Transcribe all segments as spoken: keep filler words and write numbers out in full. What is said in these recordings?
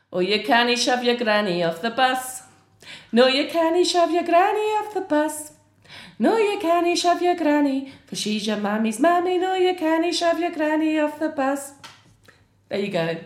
Oh, you can't shove your granny off the bus. No, you can't shove your granny off the bus. No, you can't shove your granny, for she's your mammy's mammy. No, you can't shove your granny off the bus. There you go.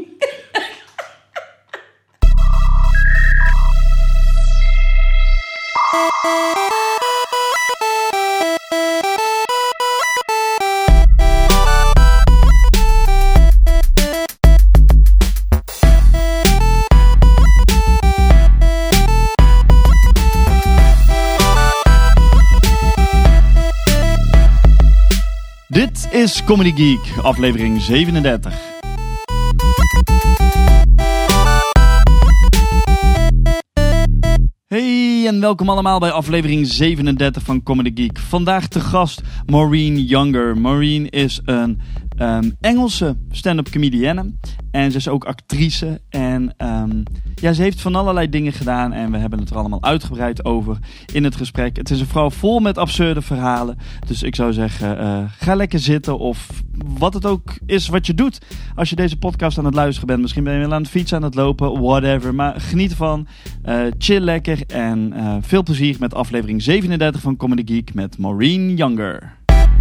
Dit is Comedy Geek, aflevering zevenendertig. Hey en welkom allemaal bij aflevering zevenendertig van Comedy Geek. Vandaag te gast Maureen Younger. Maureen is een um, Engelse stand-up comedienne en ze is ook actrice. En um, ja, ze heeft van allerlei dingen gedaan en we hebben het er allemaal uitgebreid over in het gesprek. Het is een vrouw vol met absurde verhalen. Dus ik zou zeggen, uh, ga lekker zitten of wat het ook is wat je doet. Als je deze podcast aan het luisteren bent, misschien ben je wel aan het fietsen, aan het lopen, whatever. Maar geniet ervan, uh, chill lekker en uh, veel plezier met aflevering zevenendertig van Comedy Geek met Maureen Younger.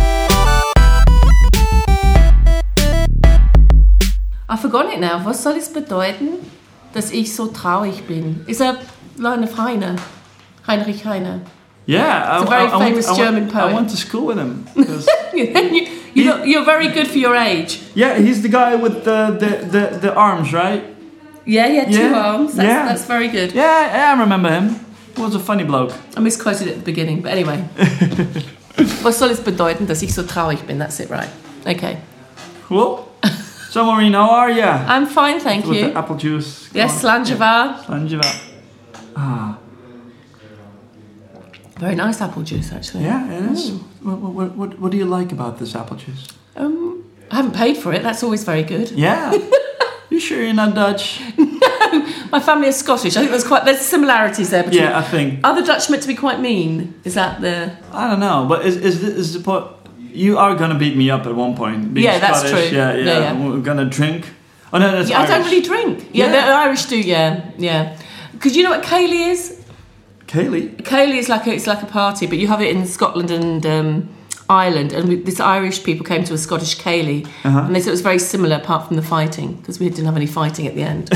I forgot it now. Was soll es bedeuten, dass ich so traurig bin? Is that Leine Heine? Heinrich Heine? Yeah, it's a very I, famous I went, German I went, poet. I went to school with him. you, you know, you're very good for your age. Yeah, he's the guy with the, the, the, the arms, right? Yeah, yeah, two yeah. arms. That's, yeah. that's very good. Yeah, yeah, I remember him. He was a funny bloke. I misquoted it at the beginning, but anyway. Was soll es bedeuten, dass ich so traurig bin? That's it, right? Okay. Cool. So, Maureen, how are you? I'm fine, thank with you. With the apple juice. Yes, Slanjava. Slanjava. Ah. Very nice apple juice, actually. Yeah, it is. What, what, what, what do you like about this apple juice? Um, I haven't paid for it. That's always very good. Yeah. You sure you're not Dutch? No, my family is Scottish. I think there's quite there's similarities there between. Yeah, I think. Are the Dutch meant to be quite mean? Is that the? I don't know, but is is this, is the point? You are gonna beat me up at one point. Being yeah, that's Scottish, true. Yeah, yeah, yeah, yeah. We're gonna drink. Oh no, that's yeah, Irish. I don't really drink. Yeah, yeah. the Irish do. Yeah, yeah. Because you know what Kaylee is? Kaylee. Kaylee is like a, it's like a party, but you have it in Scotland and um, Ireland. And we, this Irish people came to a Scottish Kaylee, uh-huh. and they said it was very similar, apart from the fighting, because we didn't have any fighting at the end.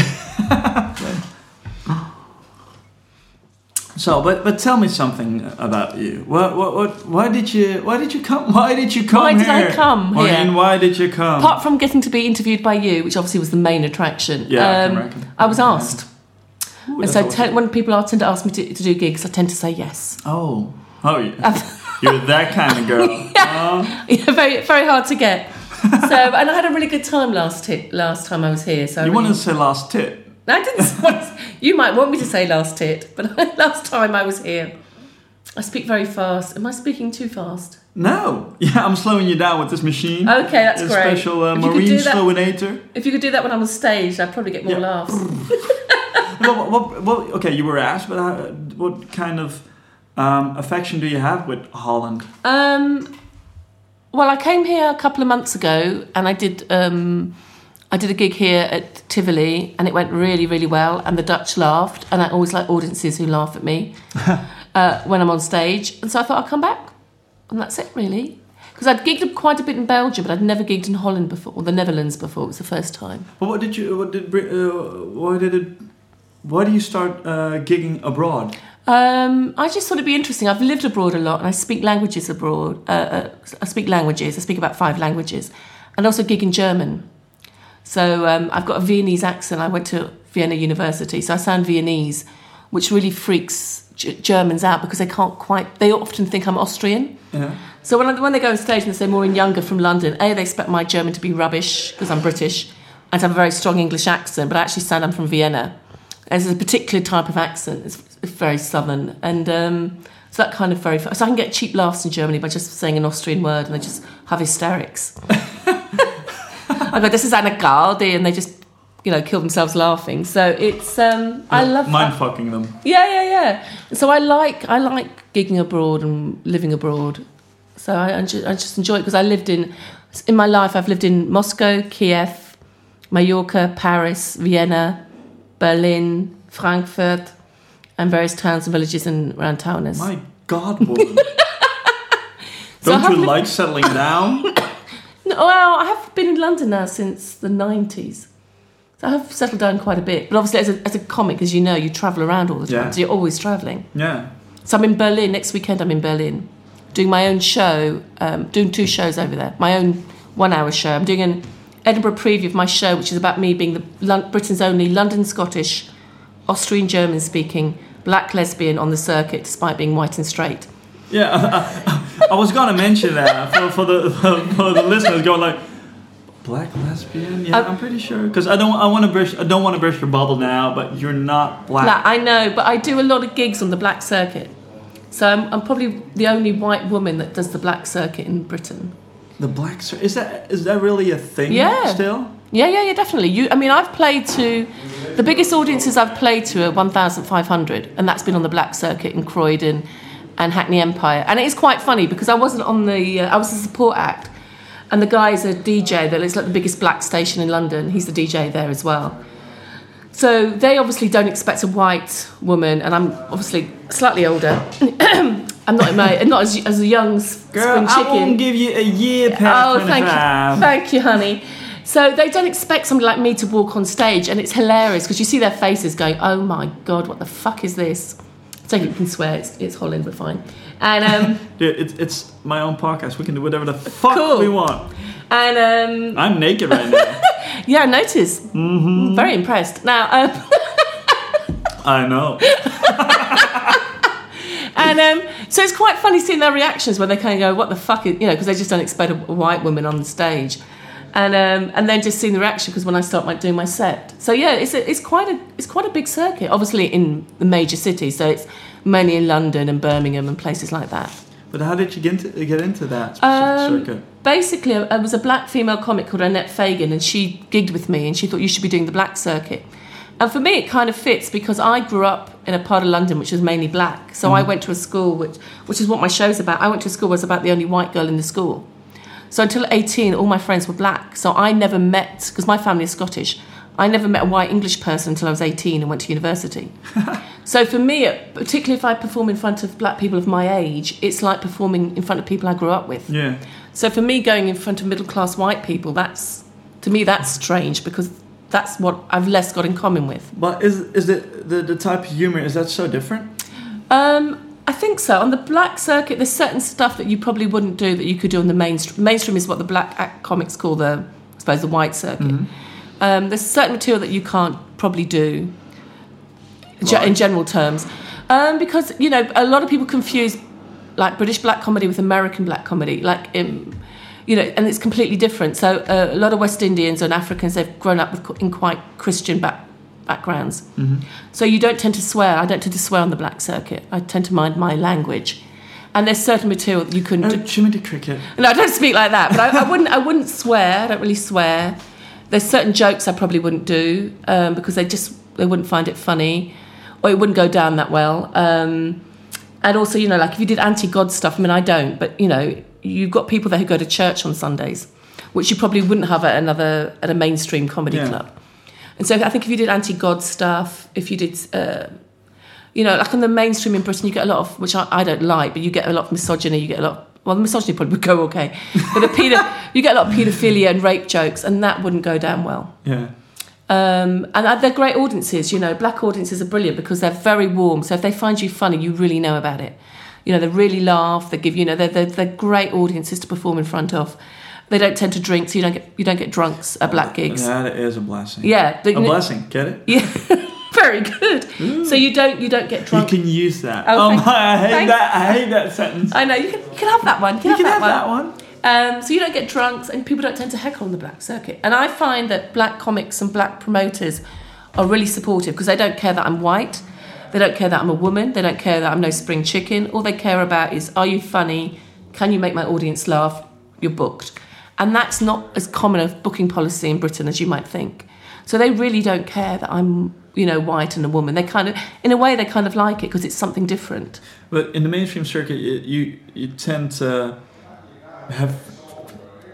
So, but but tell me something about you. What what what? Why did you Why did you come? Why did you come why here? Why did I come Maureen, here? Why did you come? Apart from getting to be interviewed by you, which obviously was the main attraction. Yeah, um, I can reckon. I was asked. Ooh, and so awesome. te- when people are, tend to ask me to, to do gigs, I tend to say yes. Oh, oh, yeah. You're that kind of girl. yeah. Oh. yeah, very very hard to get. So, and I had a really good time last tit, last time I was here. So you I really, wanted to say last tit? I didn't. Want, you might want me to say last tit, but last time I was here, I speak very fast. Am I speaking too fast? No. Yeah, I'm slowing you down with this machine. Okay, that's a great. Special uh, If you could Maureen do that- slowinator. If you could do that when I'm on stage, I'd probably get more Yeah. laughs. what, what, what, okay, you were asked, but how, what kind of um, affection do you have with Holland? Um, well, I came here a couple of months ago, and I did um, I did a gig here at Tivoli, and it went really, really well. And the Dutch laughed, and I always like audiences who laugh at me uh, when I'm on stage. And so I thought I'll come back, and that's it, really. Because I'd gigged quite a bit in Belgium, but I'd never gigged in Holland before, or the Netherlands before. It was the first time. But what did you? What did? Uh, why did it? Why do you start uh, gigging abroad? Um, I just thought it'd be interesting. I've lived abroad a lot, and I speak languages abroad. Uh, uh, I speak languages. I speak about five languages, and also gig in German. So um, I've got a Viennese accent. I went to Vienna University, so I sound Viennese, which really freaks G- Germans out because they can't quite. They often think I'm Austrian. Yeah. So when I, when they go on stage and they say Maureen Younger from London, A, they expect my German to be rubbish because I'm British and to have a very strong English accent, but I actually sound I'm from Vienna. There's a particular type of accent. It's, it's very southern. And um, so that kind of very... So I can get cheap laughs in Germany by just saying an Austrian word and they just have hysterics. I go, this is Anna Galdi, and they just, you know, kill themselves laughing. So it's... Um, I love Mind that. fucking them. Yeah, yeah, yeah. So I like I like gigging abroad and living abroad. So I, I just, I just enjoy it because I lived in... In my life, I've lived in Moscow, Kiev, Mallorca, Paris, Vienna, Berlin, Frankfurt, and various towns and villages and around Taunus. My God, woman. So Don't you li- like settling down? No, well, I have been in London now since the nineties. So I have settled down quite a bit. But obviously, as a, as a comic, as you know, you travel around all the time. Yeah. So you're always travelling. Yeah. So I'm in Berlin. Next weekend, I'm in Berlin. Doing my own show. Um, doing two shows over there. My own one-hour show. I'm doing an Edinburgh preview of my show, which is about me being the Lon- Britain's only London Scottish, Austrian German-speaking black lesbian on the circuit, despite being white and straight. Yeah, I, I was gonna mention that for, for the for the listeners going like, black lesbian. Yeah, Uh, I'm pretty sure because I don't I want to burst I don't want to burst your bubble now, but you're not black. Like, I know, but I do a lot of gigs on the black circuit. So I'm, I'm probably the only white woman that does the black circuit in Britain. The black cir- is that is that really a thing? Yeah. Still. Yeah, yeah, yeah, definitely. You, I mean, I've played to the biggest audiences I've played to are one thousand five hundred, and that's been on the black circuit in Croydon and Hackney Empire. And it is quite funny because I wasn't on the, uh, I was a support act, and the guy is a D J that is like the biggest black station in London. He's the D J there as well. So they obviously don't expect a white woman, and I'm obviously slightly older. I'm not in my, not as, as a young spring Girl, chicken. I won't give you a year past Oh, thank twenty-five. you, thank you, honey. So they don't expect somebody like me to walk on stage, and it's hilarious because you see their faces going, "Oh my God, what the fuck is this?" So you can swear it's, it's Holland, we're fine. And um, Dude, it's it's my own podcast. We can do whatever the fuck Cool. we want. and um, I'm naked right now. yeah, notice. Mm-hmm. Very impressed. Now, um, I know. and um, so it's quite funny seeing their reactions when they kind of go, "What the fuck is," you know, because they just don't expect a, a white woman on the stage. And um, and then just seeing the reaction because when I start my, doing my set, so yeah, it's a, it's quite a it's quite a big circuit. Obviously in the major cities, so it's mainly in London and Birmingham and places like that. But how did you get into, get into that specific Um, circuit? basically, I was a black female comic called Annette Fagan, and she gigged with me, and she thought you should be doing the black circuit. And for me, it kind of fits because I grew up in a part of London which was mainly black. So mm. I went to a school which which is what my show's about. I went to a school where I was about the only white girl in the school. So until eighteen, all my friends were black. So I never met, because my family is Scottish, I never met a white English person until I was eighteen and went to university. So for me, particularly if I perform in front of black people of my age, it's like performing in front of people I grew up with. Yeah. So for me, going in front of middle-class white people, that's, to me, that's strange because that's what I've less got in common with. But is is it the, the type of humor, is that so different? Um... I think so. On the black circuit, there's certain stuff that you probably wouldn't do that you could do on the mainstream. Mainstream is what the black act comics call the, I suppose, the white circuit. Mm-hmm. Um, there's certain material that you can't probably do Right. in general terms. Um, because, you know, a lot of people confuse, like, British black comedy with American black comedy. Like, um, you know, and it's completely different. So uh, a lot of West Indians and Africans, they've grown up with, in quite Christian back, backgrounds. Mm-hmm. So you don't tend to swear. I don't tend to swear on the black circuit. I tend to mind my language. And there's certain material that you couldn't Oh, do. Jimmy the Cricket. No, I don't speak like that, but I, I wouldn't I wouldn't swear. I don't really swear. There's certain jokes I probably wouldn't do um, because they just they wouldn't find it funny, or it wouldn't go down that well. Um, and also, you know, like if you did anti-God stuff, I mean, I don't, but you know, you've got people there who go to church on Sundays, which you probably wouldn't have at another at a mainstream comedy Yeah. club. And so I think if you did anti-God stuff, if you did, uh, you know, like on the mainstream in Britain, you get a lot of, which I, I don't like, but you get a lot of misogyny, you get a lot of, well, the misogyny probably would go okay, but the pedo, you get a lot of paedophilia and rape jokes, and that wouldn't go down well. Yeah. Um, and they're great audiences, you know, black audiences are brilliant because they're very warm, so if they find you funny, you really know about it. You know, they really laugh, they give, you know, they're, they're, they're great audiences to perform in front of. They don't tend to drink, so you don't get you don't get drunks at black gigs. That is a blessing. Yeah, the, a blessing. Get it? Yeah, very good. Ooh. So you don't you don't get drunk. You can use that. Oh, oh thank, my! I hate thank, that. I hate that sentence. I know you can you can have that one. You can, you have, can that, have one. that one. Um, so you don't get drunks, and people don't tend to heckle on the black circuit. And I find that black comics and black promoters are really supportive because they don't care that I'm white, they don't care that I'm a woman, they don't care that I'm no spring chicken. All they care about is, are you funny? Can you make my audience laugh? You're booked. And that's not as common a booking policy in Britain as you might think. So they really don't care that I'm, you know, white and a woman. They kind of, in a way, they kind of like it because it's something different. But in the mainstream circuit, you you, you tend to have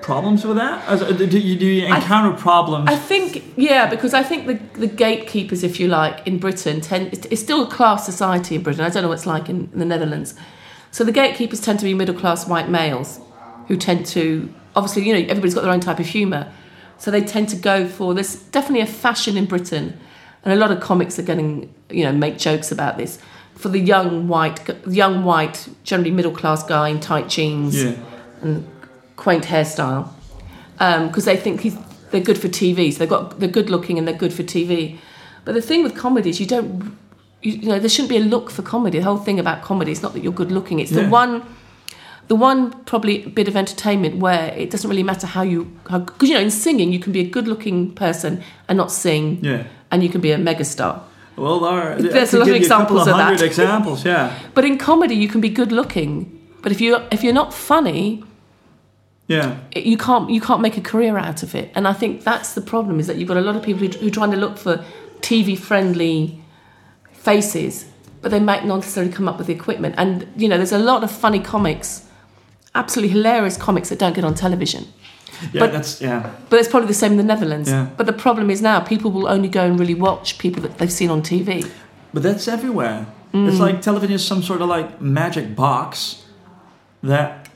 problems with that? As, do, you, do you encounter I, problems? I think, yeah, because I think the, the gatekeepers, if you like, in Britain, tend, it's still a class society in Britain. I don't know what it's like in, in the Netherlands. So the gatekeepers tend to be middle-class white males who tend to, obviously, you know, everybody's got their own type of humour. So they tend to go for, there's definitely a fashion in Britain, and a lot of comics are getting, you know, make jokes about this, for the young white, young white, generally middle-class guy in tight jeans yeah. and quaint hairstyle, because um, they think he's, they're good for T V. So they've got, they're good-looking and they're good for T V. But the thing with comedy is you don't, you, you know, there shouldn't be a look for comedy. The whole thing about comedy is not that you're good-looking. It's yeah. the one... The one probably bit of entertainment where it doesn't really matter how you... Because, you know, in singing, you can be a good-looking person and not sing. Yeah. And you can be a megastar. Well, there are, there's a lot of examples of, of that. examples, yeah. But in comedy, you can be good-looking. But if, you, if you're not funny... Yeah. It, you can't you can't make a career out of it. And I think that's the problem, is that you've got a lot of people who, who are trying to look for T V-friendly faces, but they might not necessarily come up with the equipment. And, you know, there's a lot of funny comics... absolutely hilarious comics that don't get on television. Yeah, but, that's yeah. But it's probably the same in the Netherlands. Yeah. But the problem is now people will only go and really watch people that they've seen on T V. But that's everywhere. Mm. It's like television is some sort of like magic box that.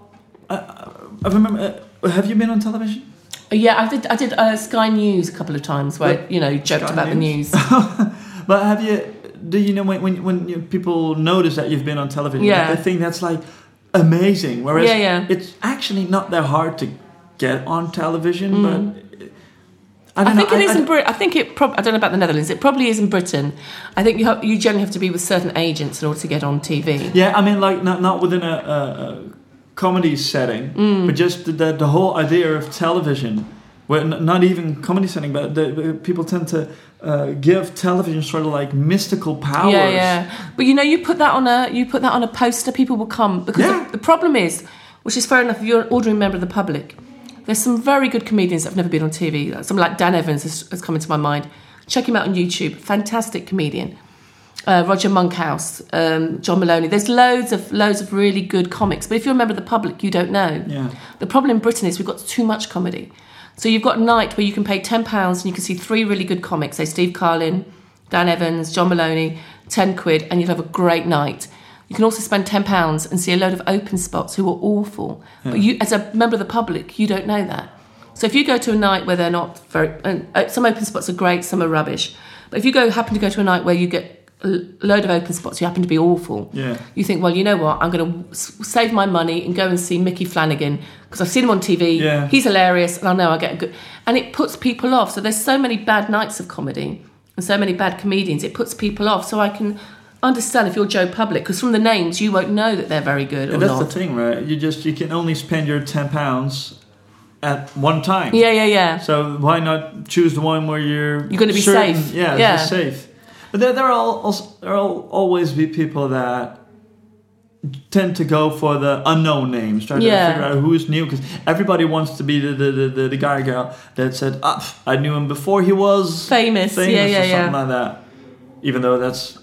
Uh, I remember. Uh, have you been on television? Yeah, I did. I did uh, Sky News a couple of times where but, you know joked Sky about News? the news. But have you? Do you know when when, when you, people notice that you've been on television? Yeah. They think that's like. Amazing. Whereas yeah, yeah. it's actually not that hard to get on television, mm. but I, don't I think know. it I, is I, in Britain. I think it. Prob- I don't know about the Netherlands. It probably is in Britain. I think you have, you generally have to be with certain agents in order to get on T V. Yeah, I mean, like not not within a, a, a comedy setting, mm. but just the, the the whole idea of television, where n- not even comedy setting, but the, people tend to. Uh, give television sort of like mystical powers. Yeah, yeah. But you know, you put that on a you put that on a poster, people will come because yeah. the, the problem is, which is fair enough, if you're an ordinary member of the public, there's some very good comedians that have never been on T V. Someone like Dan Evans has, has come into my mind. Check him out on YouTube. Fantastic comedian. Uh, Roger Monkhouse, um, John Maloney. There's loads of loads of really good comics. But if you're a member of the public, you don't know. Yeah. The problem in Britain is we've got too much comedy. So you've got a night where you can pay ten pounds and you can see three really good comics, say Steve Carlin, Dan Evans, John Maloney, ten quid, and you'll have a great night. You can also spend ten pounds and see a load of open spots who are awful. Yeah. But you, as a member of the public, you don't know that. So if you go to a night where they're not very... And some open spots are great, some are rubbish. But if you go happen to go to a night where you get a load of open spots who happen to be awful, yeah. you think, well, you know what, I'm going to save my money and go and see Mickey Flanagan because I've seen him on T V, yeah. he's hilarious, and I know I get a good... And it puts people off. So there's so many bad nights of comedy and so many bad comedians, it puts people off. So I can understand if you're Joe Public, because from the names, you won't know that they're very good or and that's not. That's the thing, right? You just, you can only spend your ten pounds at one time. Yeah, yeah, yeah. So why not choose the one where you're... You're going to be certain, safe. Yeah, yeah. it's safe. But there, there, are also, there will always be people that tend to go for the unknown names, trying yeah. to figure out who's new, because everybody wants to be the the, the, the, the guy or girl that said, ah, I knew him before he was famous, famous yeah, yeah, or something yeah. like that. Even though that's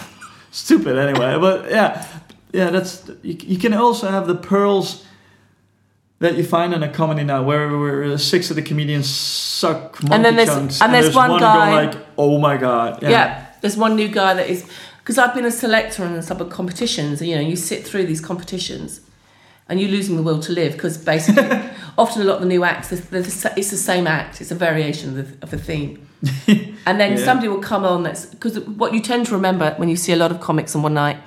stupid anyway. But yeah, yeah, that's you, you can also have the pearls that you find in a comedy now, where, where six of the comedians suck monkey and then there's, chunks, and, and there's, there's one, one guy going like, oh my god, yeah. yeah. There's one new guy that is, because I've been a selector in some of competitions. You know, you sit through these competitions, and you're losing the will to live because basically, often a lot of the new acts, they're, they're the, it's the same act. It's a variation of the, of the theme, and then yeah. somebody will come on. That's because what you tend to remember when you see a lot of comics on one night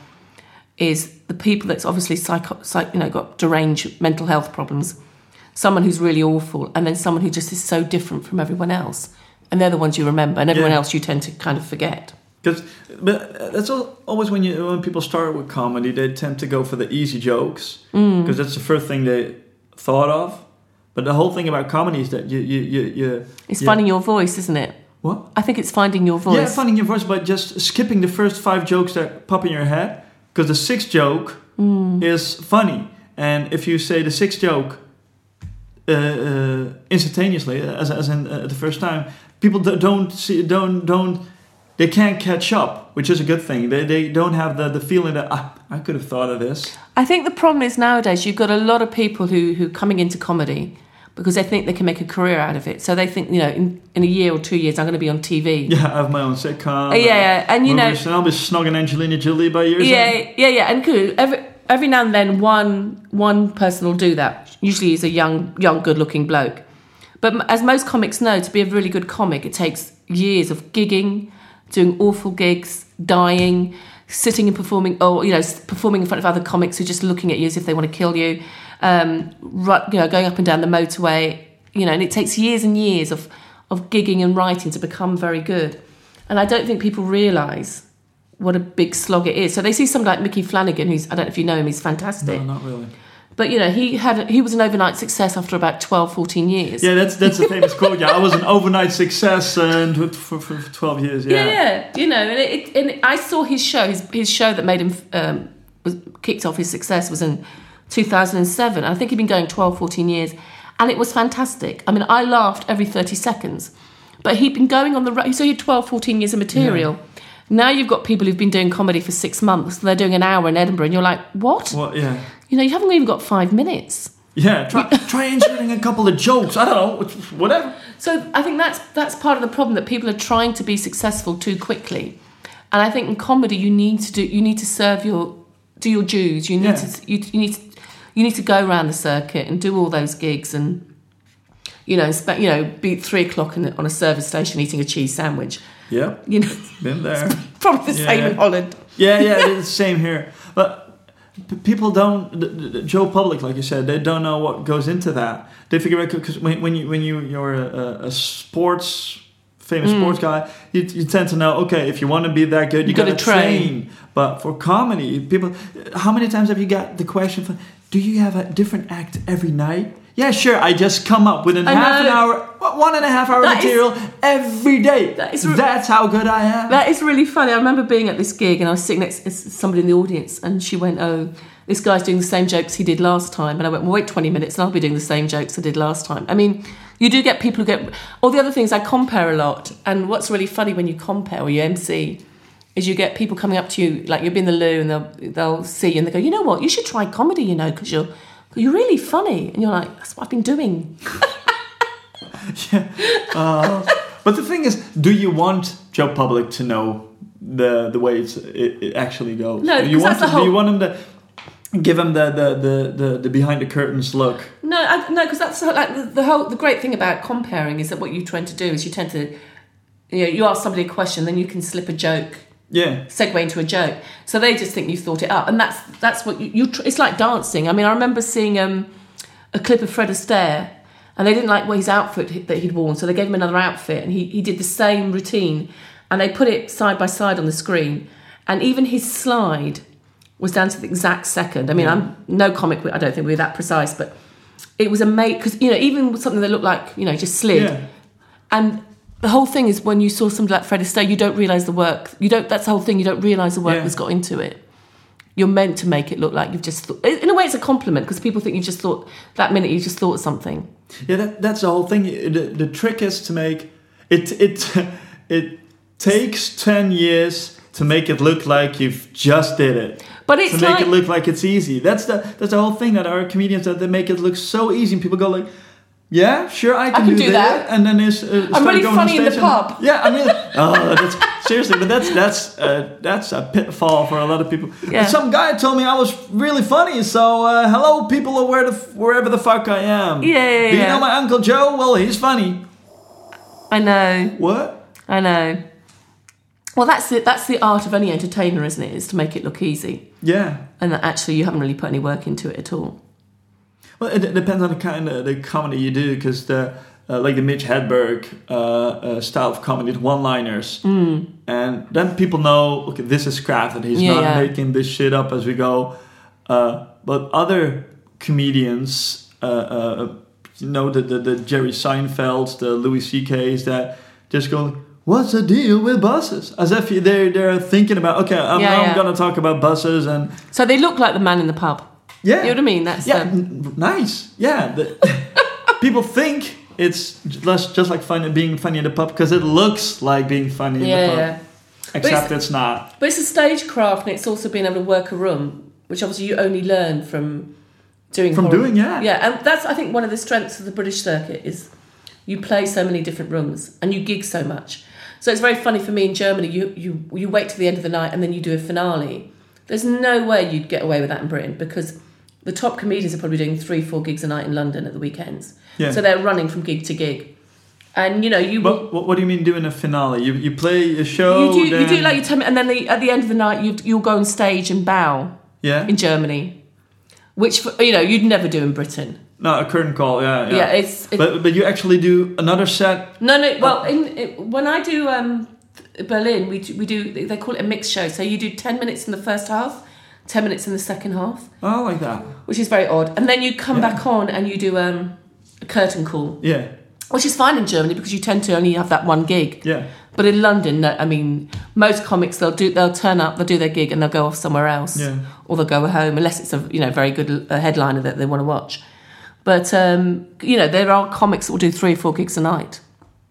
is the people that's obviously psycho, psych, you know, got deranged mental health problems. Someone who's really awful, and then someone who just is so different from everyone else, and they're the ones you remember, and everyone yeah. else you tend to kind of forget. Because, but that's always when you when people start with comedy, they tend to go for the easy jokes because mm. that's the first thing they thought of. But the whole thing about comedy is that you you you, you it's you, finding your voice, isn't it? What? I think it's finding your voice. Yeah, finding your voice, but just skipping the first five jokes that pop in your head, because the sixth joke mm. is funny, and if you say the sixth joke uh, uh, instantaneously, as as in uh, the first time, people don't see don't don't. They can't catch up, which is a good thing. They they don't have the, the feeling that, ah, I could have thought of this. I think the problem is nowadays you've got a lot of people who who coming into comedy because they think they can make a career out of it. So they think, you know, in, in a year or two years, I'm going to be on T V. Yeah, I have my own sitcom. Uh, yeah, yeah, and you know, I'll be snogging Angelina Jolie by years. Yeah, end. yeah, yeah, and cool. Every every now and then, one one person will do that. Usually, he's a young, young, good-looking bloke. But as most comics know, to be a really good comic, it takes years of gigging, doing awful gigs, dying, sitting and performing, or you know, performing in front of other comics who are just looking at you as if they want to kill you. Um, you know, going up and down the motorway, you know, and it takes years and years of, of gigging and writing to become very good. And I don't think people realise what a big slog it is. So they see somebody like Mickey Flanagan, who's, I don't know if you know him, he's fantastic. No, not really. But, you know, he had he was an overnight success after about twelve, fourteen years. Yeah, that's that's a famous quote. Yeah, I was an overnight success uh, for, for, for twelve years. Yeah, yeah, yeah. You know, and, it, and I saw his show, his, his show that made him, um, was kicked off his success was in two thousand seven. I think he'd been going twelve, fourteen years, and it was fantastic. I mean, I laughed every thirty seconds. But he'd been going on the road, so he had twelve, fourteen years of material. Yeah. Now you've got people who've been doing comedy for six months, and they're doing an hour in Edinburgh, and you're like, what? What, yeah. You know, you haven't even got five minutes. Yeah, try, try inserting a couple of jokes, I don't know, whatever. So I think that's that's part of the problem, that people are trying to be successful too quickly. And I think in comedy you need to do, you need to serve your, do your dues, you need yeah. to, you, you need to, you need to go around the circuit and do all those gigs and, you know, spe- you know, be at three o'clock in, on a service station eating a cheese sandwich. Yeah, you know, been there. Probably the yeah. same in Holland. Yeah, yeah, it's the same here. But p- people don't. The, the, Joe Public, like you said, they don't know what goes into that. They figure out because when, when you when you you're a, a sports famous mm. sports guy, you, you tend to know. Okay, if you want to be that good, you, you got to train. train. But for comedy, people, how many times have you got the question? For, do you have a different act every night? Yeah, sure. I just come up with a half an hour, one and a half hour that material is, every day. That is re- That's how good I am. That is really funny. I remember being at this gig and I was sitting next to somebody in the audience and she went, oh, this guy's doing the same jokes he did last time. And I went, well, wait twenty minutes and I'll be doing the same jokes I did last time. I mean, you do get people who get... All the other things, I compare a lot. And what's really funny when you compare or you M C is you get people coming up to you, like you'll be in the loo and they'll, they'll see you and they go, you know what, you should try comedy, you know, because you're... You're really funny. And you're like, that's what I've been doing. yeah. Uh, but the thing is, do you want Joe Public to know the the way it's, it, it actually goes? No, do you want that's the to, whole... Do you want him to give him the, the, the, the, the behind the curtains look? No, I, no, because that's like the, the whole... The great thing about comparing is that what you tend to do is you tend to... You know, you ask somebody a question, then you can slip a joke... Yeah, segue into a joke. So they just think you've thought it up, and that's that's what you. you tr- it's like dancing. I mean, I remember seeing um, a clip of Fred Astaire, and they didn't like what his outfit that he'd worn, so they gave him another outfit, and he he did the same routine, and they put it side by side on the screen, and even his slide was down to the exact second. I mean, yeah. I'm no comic. I don't think we're that precise, but it was amazing because you know even something that looked like you know just slid, yeah. and. The whole thing is when you saw somebody like Fred Astaire, you don't realise the work. You don't. That's the whole thing. You don't realise the work yeah. that's got into it. You're meant to make it look like you've just thought. In a way, it's a compliment because people think you've just thought that minute. You just thought something. Yeah, that, that's the whole thing. The, the trick is to make it. It it takes ten years to make it look like you've just did it. But it's to make like, it look like it's easy. That's the that's the whole thing that our comedians that they make it look so easy, and people go like. Yeah, sure, I can, I can do, do that. that. And then is uh, I'm really funny in the and, pub. Yeah, I mean, oh, that's seriously, but that's that's uh, that's a pitfall for a lot of people. Yeah. Some guy told me I was really funny, so uh, hello, people, or where the wherever the fuck I am. Yeah, yeah, Do yeah. you know my Uncle Joe? Well, he's funny. I know. What? I know. Well, that's it. That's the art of any entertainer, isn't it? Is to make it look easy. Yeah. And that actually you haven't really put any work into it at all. Well, it, it depends on the kind of the comedy you do, because the uh, like the Mitch Hedberg uh, uh, style of comedy, the one-liners, mm. and then people know, okay, this is crafted. He's yeah, not yeah. making this shit up as we go. Uh, but other comedians, uh, uh, you know, the, the the Jerry Seinfelds, the Louis C K's, that just go, what's the deal with buses? As if they're they're thinking about, okay, I'm, yeah, I'm yeah. gonna talk about buses, and so they look like the man in the pub. Yeah, you know what I mean. That's yeah, the... n- nice. Yeah, the, people think it's just just like funny being funny in the pub because it looks like being funny yeah, in the pub. Yeah. Except it's, it's not. But it's a stagecraft, and it's also being able to work a room, which obviously you only learn from, doing From horror. doing, yeah. Yeah, and that's, I think, one of the strengths of the British circuit is you play so many different rooms and you gig so much. So it's very funny for me in Germany, you, you, you wait till the end of the night and then you do a finale. There's no way you'd get away with that in Britain because the top comedians are probably doing three, four gigs a night in London at the weekends. Yeah. So they're running from gig to gig. And, you know, you... But what, what do you mean doing a finale? You you play a show, You do, then... you do like your ten, and then the, at the end of the night, you you'll go on stage and bow Yeah? in Germany, which, you know, you'd never do in Britain. No, a curtain call, yeah. Yeah, Yeah, it's... It, but but you actually do another set... no, no, well, in, it, when I do um, Berlin, we do, we do, they call it a mixed show. So you do ten minutes in the first half, ten minutes in the second half. Oh, like that. Which is very odd. And then you come Yeah. back on and you do um, a curtain call. Yeah. Which is fine in Germany because you tend to only have that one gig. Yeah. But in London, no, I mean, most comics they'll do they'll turn up, they'll do their gig, and they'll go off somewhere else, Yeah. or they'll go home unless it's a you know very good uh, headliner that they want to watch. But um, you know, there are comics that will do three or four gigs a night.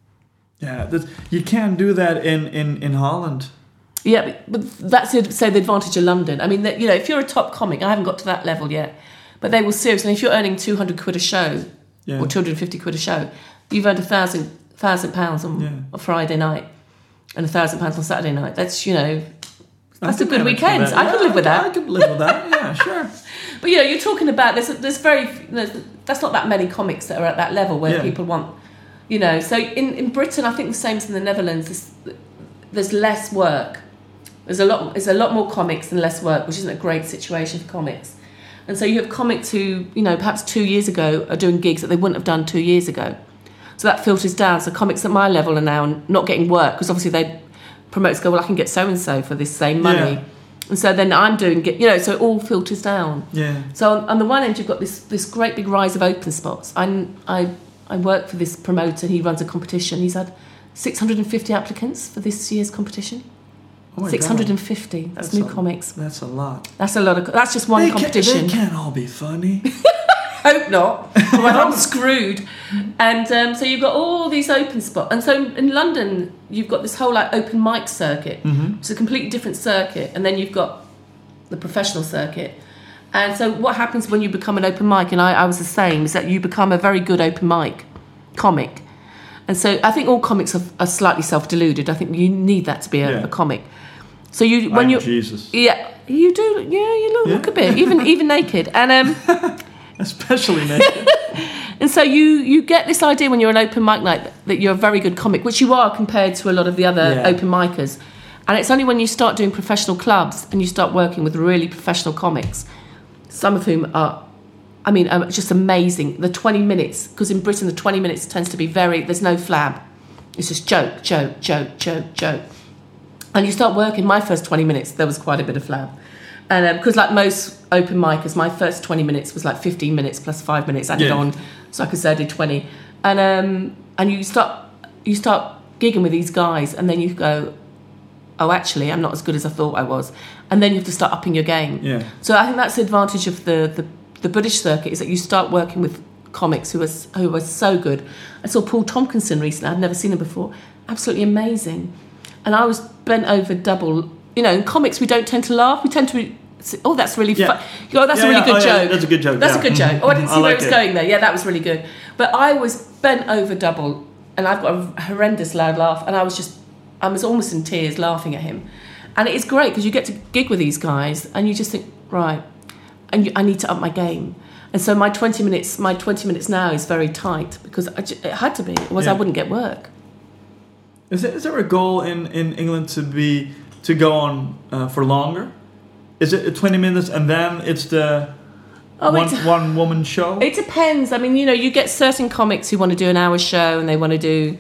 Yeah, that's, you can't do that in, in, in Holland. Yeah, but, but that's it, say the advantage of London. I mean, that, you know, if you're a top comic, I haven't got to that level yet, but they will seriously. If you're earning two hundred quid a show, Yeah. or two hundred fifty quid a show, you've earned a thousand thousand pounds on Yeah. a Friday night and a thousand pounds on Saturday night. That's you know, I that's a could good manage weekend. with that. I Yeah, could live with I, that. I could live with that, yeah, sure. But you know, you're talking about there's there's very there's, that's not that many comics that are at that level where Yeah. people want, you know. So in, in Britain, I think the same as in the Netherlands. There's, there's less work. There's a lot. There's a lot more comics and less work, which isn't a great situation for comics. And so you have comics who, you know, perhaps two years ago are doing gigs that they wouldn't have done two years ago. So that filters down. So comics at my level are now not getting work because obviously they promoters go, well, I can get so and so for this same money. Yeah. And so then I'm doing, you know, so it all filters down. Yeah. So on, on the one end, you've got this this great big rise of open spots. I I I work for this promoter. He runs a competition. He's had six hundred fifty applicants for this year's competition. Oh my six hundred God. fifty. That's, That's new a- comics. That's a lot. That's a lot of. That's just one they competition. Can't, they can't all be funny. Hope not. Well, I'm screwed. And um, so you've got all these open spots. And so in London, you've got this whole like open mic circuit. Mm-hmm. It's a completely different circuit. And then you've got the professional circuit. And so what happens when you become an open mic, and I, I was the same, is that you become a very good open mic comic. And so I think all comics are, are slightly self-deluded. I think you need that to be a, Yeah. a comic. So you when I'm you Jesus. yeah you do yeah you look, Yeah. look a bit even even naked and um. Especially naked. And so you you get this idea when you're an open mic night that, that you're a very good comic, which you are compared to a lot of the other Yeah. open micers. And it's only when you start doing professional clubs and you start working with really professional comics, some of whom are, I mean, are just amazing. The twenty minutes, because in Britain the twenty minutes tends to be very, there's no flab. It's just joke, joke, joke, joke, joke. And you start working, my first twenty minutes, there was quite a bit of flab. And because um, like most open micers, my first twenty minutes was like fifteen minutes plus five minutes added Yeah. on. So I could say I did twenty. And um, and you start you start gigging with these guys and then you go, oh, actually, I'm not as good as I thought I was. And then you have to start upping your game. Yeah. So I think that's the advantage of the, the, the British circuit is that you start working with comics who are, who are so good. I saw Paul Tompkinson recently. I'd never seen him before. Absolutely amazing. And I was bent over double. You know, in comics, we don't tend to laugh. We tend to be, oh, that's really Yeah. fun. Oh, that's Yeah, a really yeah. good Oh, yeah, joke. that's a good joke, That's yeah. a good joke. Oh, I didn't I see where like it was it. going there. Yeah, that was really good. But I was bent over double, and I've got a horrendous loud laugh, and I was just, I was almost in tears laughing at him. And it is great because you get to gig with these guys, and you just think, right, and you, I need to up my game. And so my twenty minutes, my twenty minutes now is very tight because I ju- it had to be. Otherwise, Yeah. I wouldn't get work. Is there, is there a goal in, in England to be to go on uh, for longer? Is it twenty minutes and then it's the Oh, one, it's- one woman show? It depends. I mean, you know, you get certain comics who want to do an hour show and they want to do.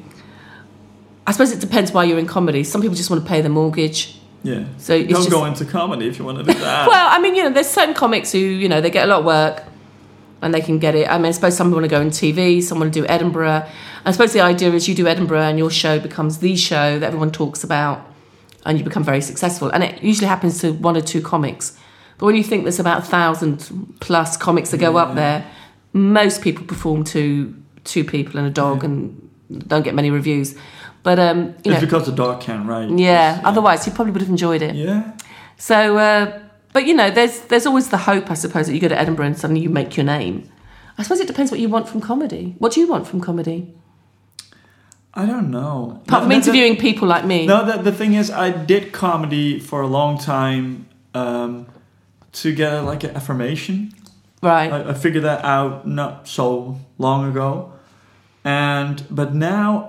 I suppose it depends why you're in comedy. Some people just want to pay the mortgage. Yeah. So it's Don't just, go into comedy if you want to do that. well, I mean, you know, there's certain comics who, you know, they get a lot of work and they can get it. I mean, I suppose some want to go on T V, some want to do Edinburgh. I suppose the idea is you do Edinburgh and your show becomes the show that everyone talks about and you become very successful. And it usually happens to one or two comics. But when you think there's about a thousand plus comics that go Yeah. up there, most people perform to two people and a dog Yeah. and don't get many reviews. But, um, you it's know, because the dog can, right? yeah, It's- otherwise you probably would have enjoyed it. Yeah. So, uh, but you know, there's there's always the hope, I suppose, that you go to Edinburgh and suddenly you make your name. I suppose it depends what you want from comedy. What do you want from comedy? I don't know. Apart No, from the- interviewing people like me. No, the, the thing is, I did comedy for a long time um, to get like an affirmation. Right. I, I figured that out not so long ago, and but now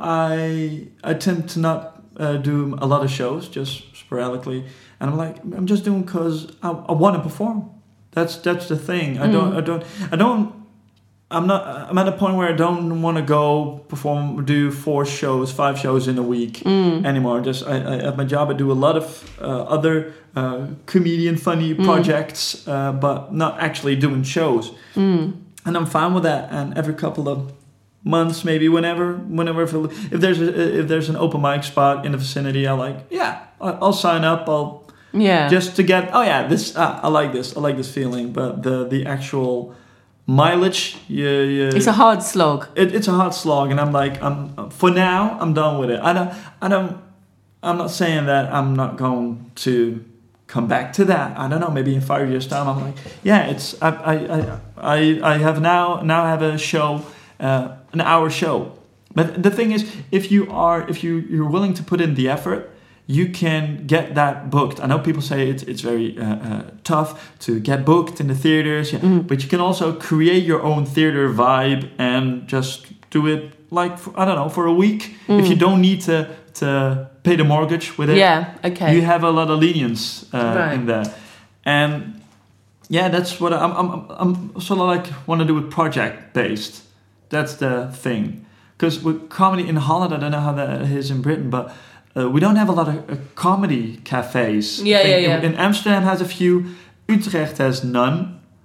I I tend to not uh, do a lot of shows, just sporadically, and I'm like I'm just doing because I, I want to perform. That's that's the thing. I don't Mm. I don't I don't. I'm not. I'm at a point where I don't want to go perform, do four shows, five shows in a week Mm. anymore. Just I, I, at my job, I do a lot of uh, other uh, comedian funny Mm. projects, uh, but not actually doing shows. Mm. And I'm fine with that. And every couple of months, maybe whenever, whenever if, if there's a, if there's an open mic spot in the vicinity, I like yeah, I- I'll sign up. I'll Yeah. just to get oh yeah, this uh, I like this. I like this feeling. But the the actual mileage, yeah, yeah. It's a hard slog. It, it's a hard slog, and I'm like, I'm for now, I'm done with it. I don't, I don't, I'm not saying that I'm not going to come back to that. I don't know. Maybe in five years' time, I'm like, yeah, it's. I, I, I, I, I have now, now have a show, uh, an hour show. But the thing is, if you are, if you you're willing to put in the effort, you can get that booked. I know people say it's it's very uh, uh, tough to get booked in the theaters, yeah, Mm. but you can also create your own theater vibe and just do it like for, I don't know for a week. Mm. If you don't need to to pay the mortgage with it, Yeah. Okay. you have a lot of lenience uh, Right. in that. And yeah, that's what I'm I'm I'm sort of like want to do it project based. That's the thing. Because with comedy in Holland, I don't know how that is in Britain, but. Uh, we don't have a lot of uh, comedy cafes. Yeah, I think yeah, yeah. In, in Amsterdam has a few. Utrecht has none.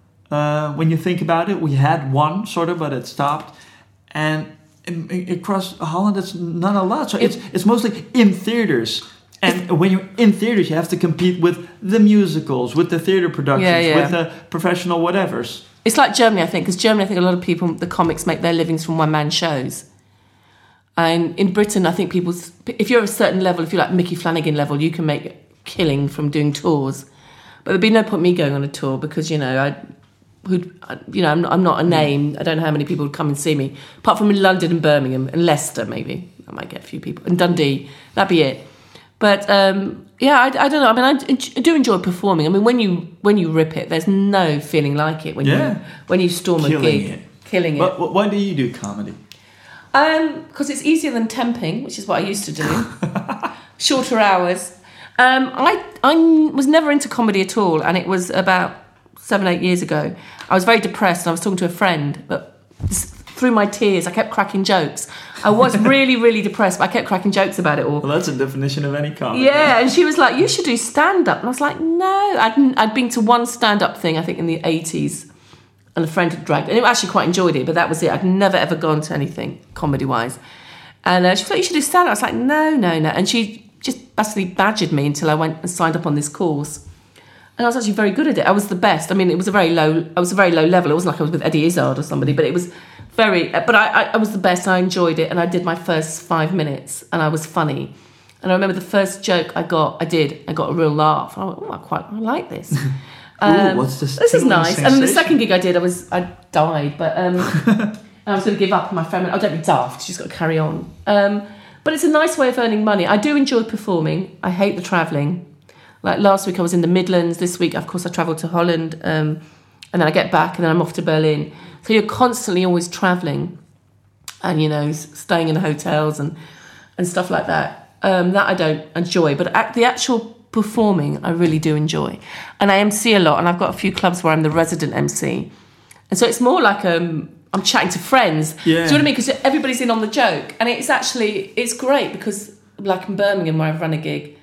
Uh, when you think about it, we had one sort of, but it stopped. And in, in, across Holland, it's not a lot. So It- it's it's mostly in theaters. And when you're in theaters, you have to compete with the musicals, with the theater productions, Yeah, yeah. with the professional whatevers. It's like Germany, I think, because Germany, I think a lot of people, the comics, make their livings from one-man shows. And in Britain, I think people, if you're a certain level, if you're like Mickey Flanagan level, you can make a killing from doing tours. But there'd be no point me going on a tour because, you know, I, who'd, I- you know, I'm not, I'm not a name. I don't know how many people would come and see me. Apart from in London and Birmingham and Leicester, maybe. I might get a few people. And Dundee, that'd be it. But um, yeah, I, I don't know. I mean, I, I do enjoy performing. I mean, when you when you rip it, there's no feeling like it when Yeah. you when you storm a Killing gig, it. killing it. But wh- why do you do comedy? Um, because it's easier than temping, which is what I used to do. Shorter hours. Um, I I was never into comedy at all, and it was about seven eight years ago. I was very depressed, and I was talking to a friend, but this, through my tears, I kept cracking jokes. I was really really depressed, but I kept cracking jokes about it all. Well, that's a definition of any comedy. Yeah, and she was like, "You should do stand up," and I was like, "No." I'd I'd been to one stand up thing, I think, in the eighties. And a friend had dragged, and I actually quite enjoyed it, but that was it. I'd never ever gone to anything comedy-wise. And uh, she was like, "You should do stand-up." I was like, "No, no, no." And she just basically badgered me until I went and signed up on this course. And I was actually very good at it. I was the best. I mean, it was a very low. I was a very low level. It wasn't like I was with Eddie Izzard or somebody, but it was very. But I, I, I was the best. I enjoyed it, and I did my first five minutes, and I was funny. And I remember the first joke I got. I did. I got a real laugh. I went, "Oh, I quite I like this." Ooh, what's this? This is tingling nice. And then the sensation? second gig I did, I was I died, but um, and I was going to give up. And my friend went, "Oh, don't be daft. She's got to carry on." Um, but it's a nice way of earning money. I do enjoy performing. I hate the travelling. Like last week, I was in the Midlands. This week, of course, I travelled to Holland, um, and then I get back, and then I'm off to Berlin. So you're constantly always travelling, and you know, s- staying in the hotels and and stuff like that. Um, that I don't enjoy, but at the actual performing I really do enjoy, and I M C a lot, and I've got a few clubs where I'm the resident M C, and so it's more like um I'm chatting to friends. Yeah. Do you know what I mean? Because everybody's in on the joke, and it's actually it's great because like in Birmingham where I've run a gig,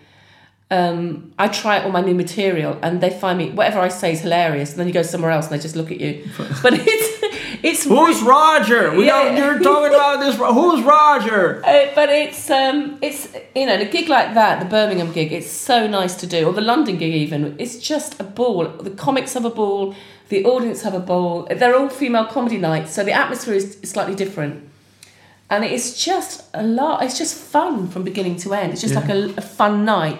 um, I try out all my new material, and they find me whatever I say is hilarious, and then you go somewhere else and they just look at you. But it's it's Who's Roger? We Yeah. don't, you're talking about this. Who's Roger? Uh, but it's um, it's you know, the gig like that, the Birmingham gig, it's so nice to do, or the London gig even. It's just a ball. The comics have a ball, the audience have a ball. They're all female comedy nights, so the atmosphere is slightly different, and it's just a lot. It's just fun from beginning to end. It's just Yeah. like a, a fun night.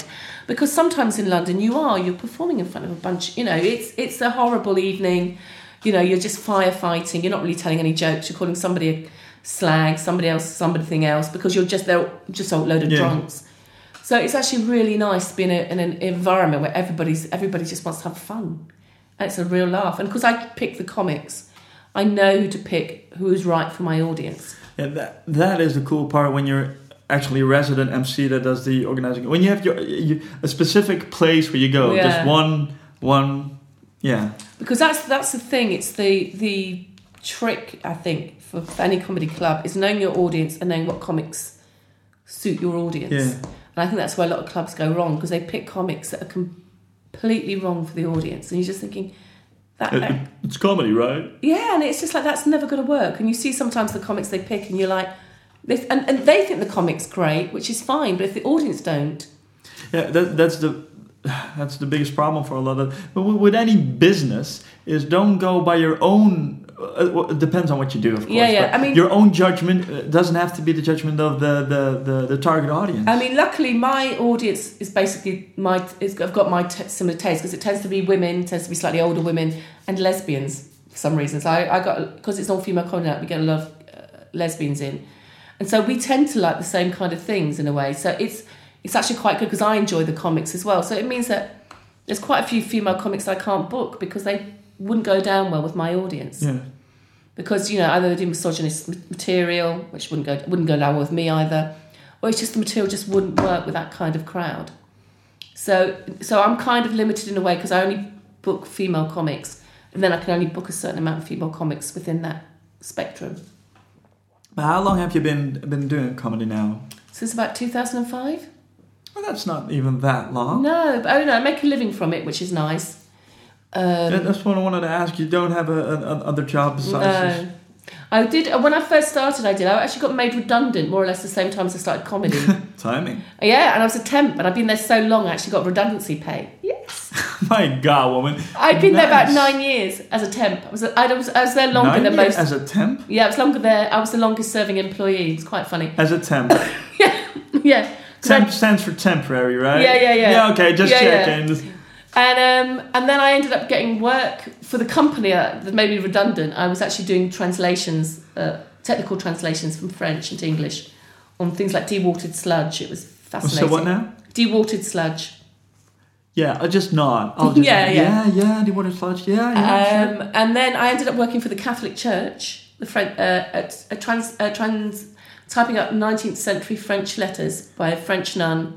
Because sometimes in London you are, you're performing in front of a bunch, you know, it's it's a horrible evening, you know, you're just firefighting, you're not really telling any jokes, you're calling somebody a slag, somebody else something else, because you're just, they're just a load of Yeah. drunks. So it's actually really nice to be in, a, in an environment where everybody's everybody just wants to have fun. And it's a real laugh. And because I pick the comics, I know who to pick, who's right for my audience. Yeah, that that is the cool part when you're actually a resident M C that does the organizing. When you have your you, a specific place where you go, Yeah. just one one, yeah. Because that's that's the thing. It's the the trick, I think, for, for any comedy club is knowing your audience and knowing what comics suit your audience. Yeah. And I think that's where a lot of clubs go wrong, because they pick comics that are completely wrong for the audience, and you're just thinking that. It, that it- it's comedy, right? Yeah, and it's just like, that's never going to work. And you see sometimes the comics they pick and you're like, they, and, and they think the comic's great, which is fine, but if the audience don't. Yeah, that, that's the that's the biggest problem for a lot of. But with with any business, is don't go by your own. Uh, well, it depends on what you do, of course. Yeah, yeah, but I mean- your own judgment uh, doesn't have to be the judgment of the the, the, the target audience. I mean, luckily my audience is basically my, is, I've got my t- similar taste, because it tends to be women, tends to be slightly older women, and lesbians for some reasons. I, I got, because it's all female comedy, we get a lot of uh, lesbians in. And so we tend to like the same kind of things in a way. So it's it's actually quite good, because I enjoy the comics as well. So it means that there's quite a few female comics I can't book because they wouldn't go down well with my audience. Yeah. Because, you know, either they do misogynist material, which wouldn't go wouldn't go down well with me either, or it's just the material just wouldn't work with that kind of crowd. So so I'm kind of limited in a way, because I only book female comics, and then I can only book a certain amount of female comics within that spectrum. But how long have you been been doing comedy now? Since about two thousand five? Well, that's not even that long. No, but oh no, I make a living from it, which is nice. Um, That- That's what I wanted to ask. You don't have a, a, a other job besides this? no. I did, when I first started, I did. I actually got made redundant more or less the same time as I started comedy. Timing. Yeah, and I was a temp, and I've been there so long, I actually got redundancy pay. Yes. My God, woman. I'd been there about Nice. nine years as a temp. I was, I was, I was there longer Nine than years most. as a temp? Yeah, I was longer there. I was the longest serving employee. It's quite funny. As a temp. Yeah, yeah. 'Cause I- Temp stands for temporary, right? Yeah, yeah, yeah. Yeah, okay, just Yeah, yeah. checking. And um, and then I ended up getting work for the company uh, that made me redundant. I was actually doing translations, uh, technical translations from French into English on things like dewatered sludge. It was fascinating. So what now? Dewatered sludge. Yeah, I'll just nod. I'll just, Yeah, yeah. Yeah, yeah, the water sludge. Yeah, yeah, sure. Um, and then I ended up working for the Catholic Church, the French, uh, at a trans, uh, trans, typing up nineteenth century French letters by a French nun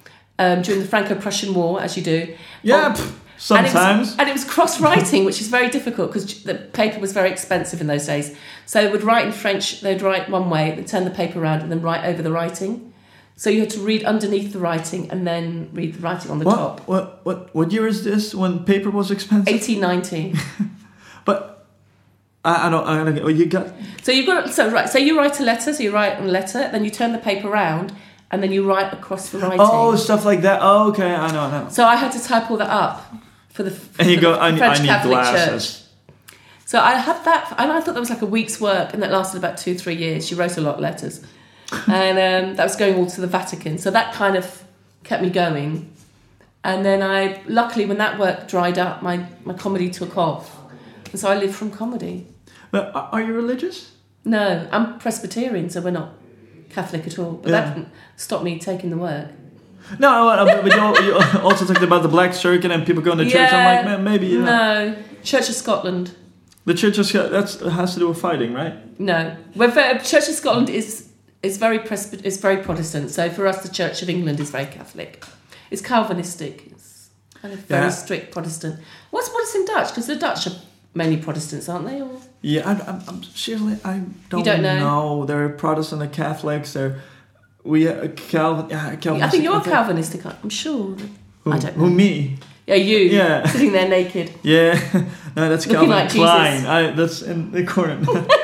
um, during the Franco-Prussian War, as you do. Yeah, On- pff, And it sometimes. was, and it was cross-writing, which is very difficult because the paper was very expensive in those days. So they would write in French, they'd write one way, they'd turn the paper around and then write over the writing. So you had to read underneath the writing and then read the writing on the what, top. what, what, what year is this when paper was expensive? eighteen nineteen. But I, I don't, I don't get, well, you got, So you've got so right. So you write a letter. So you write a letter, then you turn the paper around, and then you write across the writing. oh, stuff like that. Oh, okay, I know, I know. So I had to type all that up for the. For And you the go, I, need- French I need Catholic glasses. Church. So I had that, and I thought that was like a week's work, and that lasted about two, three years. She wrote a lot of letters, and um, that was going all to the Vatican. So that kind of kept me going. And then I, luckily, when that work dried up, my, my comedy took off, and so I lived from comedy. But are are you religious? No, I'm Presbyterian, so we're not Catholic at all. But Yeah. that didn't stop me taking the work. No, uh, but you, al- you also talked about the Black Circuit and people going to church. I'm like, man, maybe, you know. No, Church of Scotland. The church is, that's, has to do with fighting, right? No, we're very, Church of Scotland is is very Presby- is very Protestant. So for us, the Church of England is very Catholic. It's Calvinistic. It's kind of very Yeah. strict Protestant. What's what's in Dutch? Because the Dutch are mainly Protestants, aren't they? Or Yeah, I'm, I'm, I'm seriously, I don't, don't know? know. There are Protestant and Catholics. There, we uh, Calvin. Yeah, Calvin. I think you're Calvinistic. I'm sure. Who, I don't know. Who me? Yeah, you. Yeah. Sitting there naked. Yeah, no, that's Looking Calvin like Klein. Jesus. I, that's in the corner.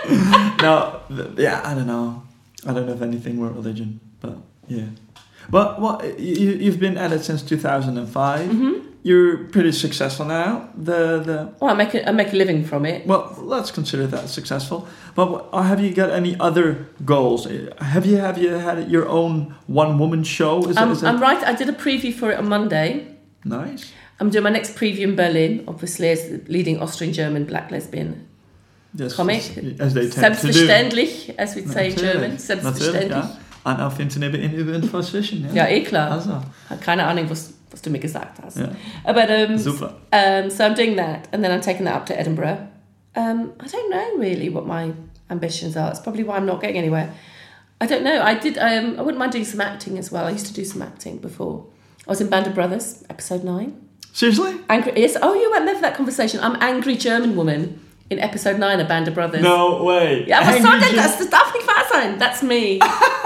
No, th- yeah, I don't know. I don't have anything with religion, but yeah. But well, you, you've been at it since two thousand five. hmm you're pretty successful now. The the Well, I make a, I make a living from it. well, let's consider that successful. But what- have you got any other goals? Have you have you had your own one woman show? Is I'm, it, is I'm it right. I did a preview for it on Monday. nice? I'm doing my next preview in Berlin, obviously, as the leading Austrian-German black lesbian Yes, comic. as they tend to do. Selbstverständlich, as we'd say in Natürlich. German. Natürlich, Selbstverständlich. ja. Und auf Internet in über Fashion, ja. Ja, eh klar. Also, Keine Ahnung, was, was du mir gesagt hast. ja. But, um, Super. Um, so I'm doing that, and then I'm taking that up to Edinburgh. Um, I don't know really what my ambitions are. It's probably why I'm not getting anywhere. I don't know. I did. Um, I wouldn't mind doing some acting as well. I used to do some acting before. I was in Band of Brothers, episode nine. Seriously? Angry. Yes. Oh, you weren't there for that conversation. I'm angry German woman in episode nine of Band of Brothers. No way. Ja, was Angry soll denn German- das? Das darf nicht wahr sein. That's me.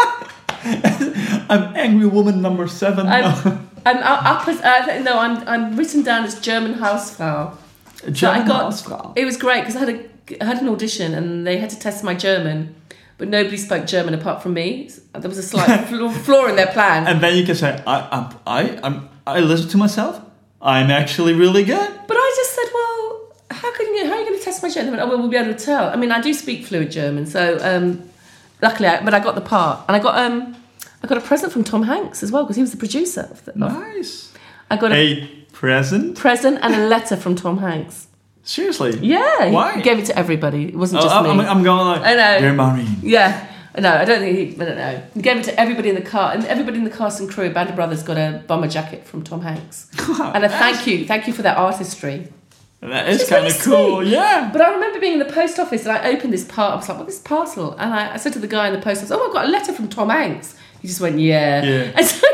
I'm angry woman number seven. I'm, I'm up as uh, no. I'm I'm written down as German Hausfrau. German So I got- Hausfrau. It was great because I had a I had an audition and they had to test my German, but nobody spoke German apart from me. There was a slight flaw flaw in their plan. And then you can say, I, I'm, I, I'm, I listen to myself. I'm actually really good. But I just said, well, how can you? How are you going to test my German? They went, oh, well, we'll be able to tell. I mean, I do speak fluent German, so um, luckily, I, but I got the part, and I got um, I got a present from Tom Hanks as well because he was the producer of the. Of, Nice. I got a A present? present and a letter from Tom Hanks. Seriously? Yeah, he Why? gave it to everybody. It wasn't Oh, just I'm, me. I'm going like, I know. dear Maureen. Yeah. No, I don't think he. I don't know. He gave it to everybody in the car, and everybody in the cast and crew. Band of Brothers got a bomber jacket from Tom Hanks, and a thank you, thank you for their artistry. That is Which is kind of really cool, sweet. yeah. But I remember being in the post office, and I opened this part. I was like, "What is this parcel?" And I, I said to the guy in the post office, "Oh, I got a letter from Tom Hanks." He just went, "Yeah." Yeah. And so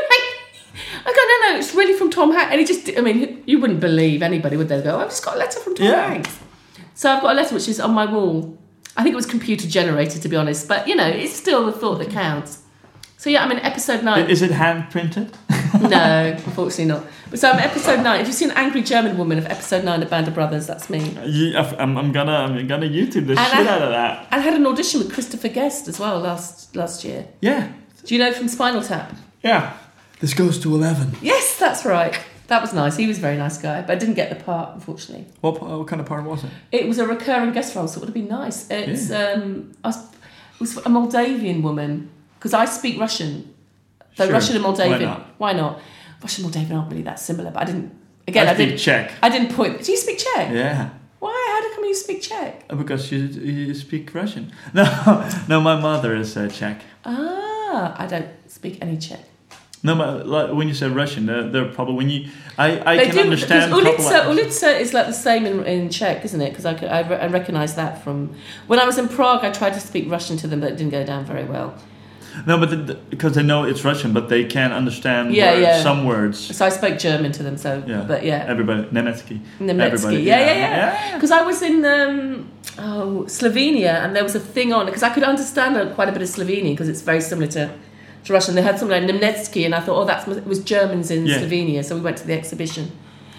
I go, "No, no, it's really from Tom Hanks." And he just, I mean, you wouldn't believe anybody, would they? Go, "I've just got a letter from Tom Yeah. Hanks." So I've got a letter which is on my wall. I think it was computer generated, to be honest, but you know, it's still the thought that counts. So yeah, I'm in episode nine. Is it hand printed? No, unfortunately not. But so I'm episode nine. If you see an angry German woman of episode nine of Band of Brothers, that's me. I'm, I'm gonna, I'm gonna YouTube the And shit I- out of that. I had an audition with Christopher Guest as well last last year. Yeah, Do you know from Spinal Tap? yeah. This goes to eleven. Yes, that's right. That was nice. He was a very nice guy, but I didn't get the part, unfortunately. What, what kind of part was it? It was a recurring guest role, so it would have been nice. It's um, I was, it was a Moldavian woman because I speak Russian. So Sure. Russian and Moldavian. Why not? Why not? Russian and Moldavian aren't really that similar, but I didn't. Again, I I, speak didn't. Czech. I didn't point. Do you speak Czech? Yeah. Why? How do come you speak Czech? Because you, you speak Russian. No, no, my mother is uh, Czech. Ah, I don't speak any Czech. No, but like, when you say Russian, they're, they're probably when you. I, I They can do, understand. because a couple Ulica, of- Ulica is like the same in, in Czech, isn't it? Because I, could- I, re- I recognise that from when I was in Prague. I tried to speak Russian to them, but it didn't go down very well. No, but the, the, because they know it's Russian, but they can understand Yeah, words, yeah. some words. So I spoke German to them. So, Yeah. but yeah, Everybody, Nemetsky. Nemetsky. Everybody, Yeah, yeah, yeah, yeah. yeah. Because I was in um, oh, Slovenia, and there was a thing on because I could understand uh, quite a bit of Slovenian because it's very similar to, to Russian. They had something like Nemetsky, and I thought, oh, that's it was Germans in Yeah. Slovenia. So we went to the exhibition.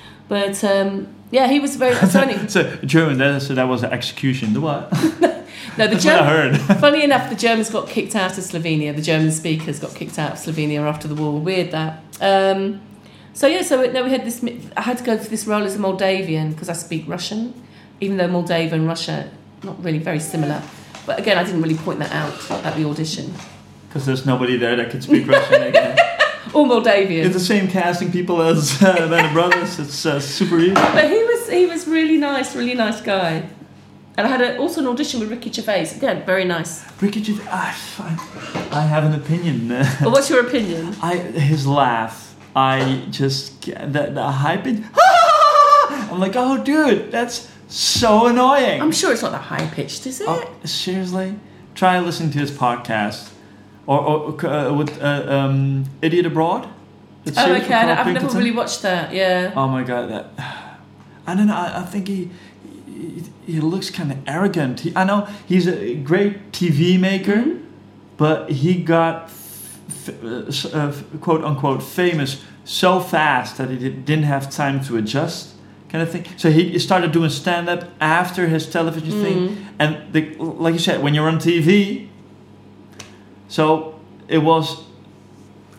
But um, yeah, he was very. So, anyway, So German, that, so that was an execution. The what? no, the That's what I German. heard. Funny enough, the Germans got kicked out of Slovenia. The German speakers got kicked out of Slovenia after the war. Weird that. Um, so yeah, so no, we had this. I had to go for this role as a Moldavian because I speak Russian, even though Moldova and Russia not really very similar. But again, I didn't really point that out at the audition. Because there's nobody there that could speak Russian again. Or Moldavian. It's the same casting people as uh, Band of Brothers. It's uh, super easy. But he was he was really nice, really nice guy. And I had a, also an audition with Ricky Gervais. Again, very nice. Ricky Gervais, I, I have an opinion. But what's your opinion? I his laugh. I just get the, the hype. It, I'm like, oh, dude, that's so annoying. I'm sure it's not that high pitched, is it? Oh, seriously, try listening to his podcast, or, or uh, with uh, um, Idiot Abroad. It's Oh, series okay. with I, Carl I've never Pilkington. really watched that. Yeah. Oh my god, that. I don't know. I, I think he, he he looks kind of arrogant. He, I know he's a great T V maker, Mhm. but he got f- f- uh, quote unquote famous so fast that he did- didn't have time to adjust, kind of thing. So he started doing stand up after his television Mhm. thing, and the, like you said, when you're on T V, so it was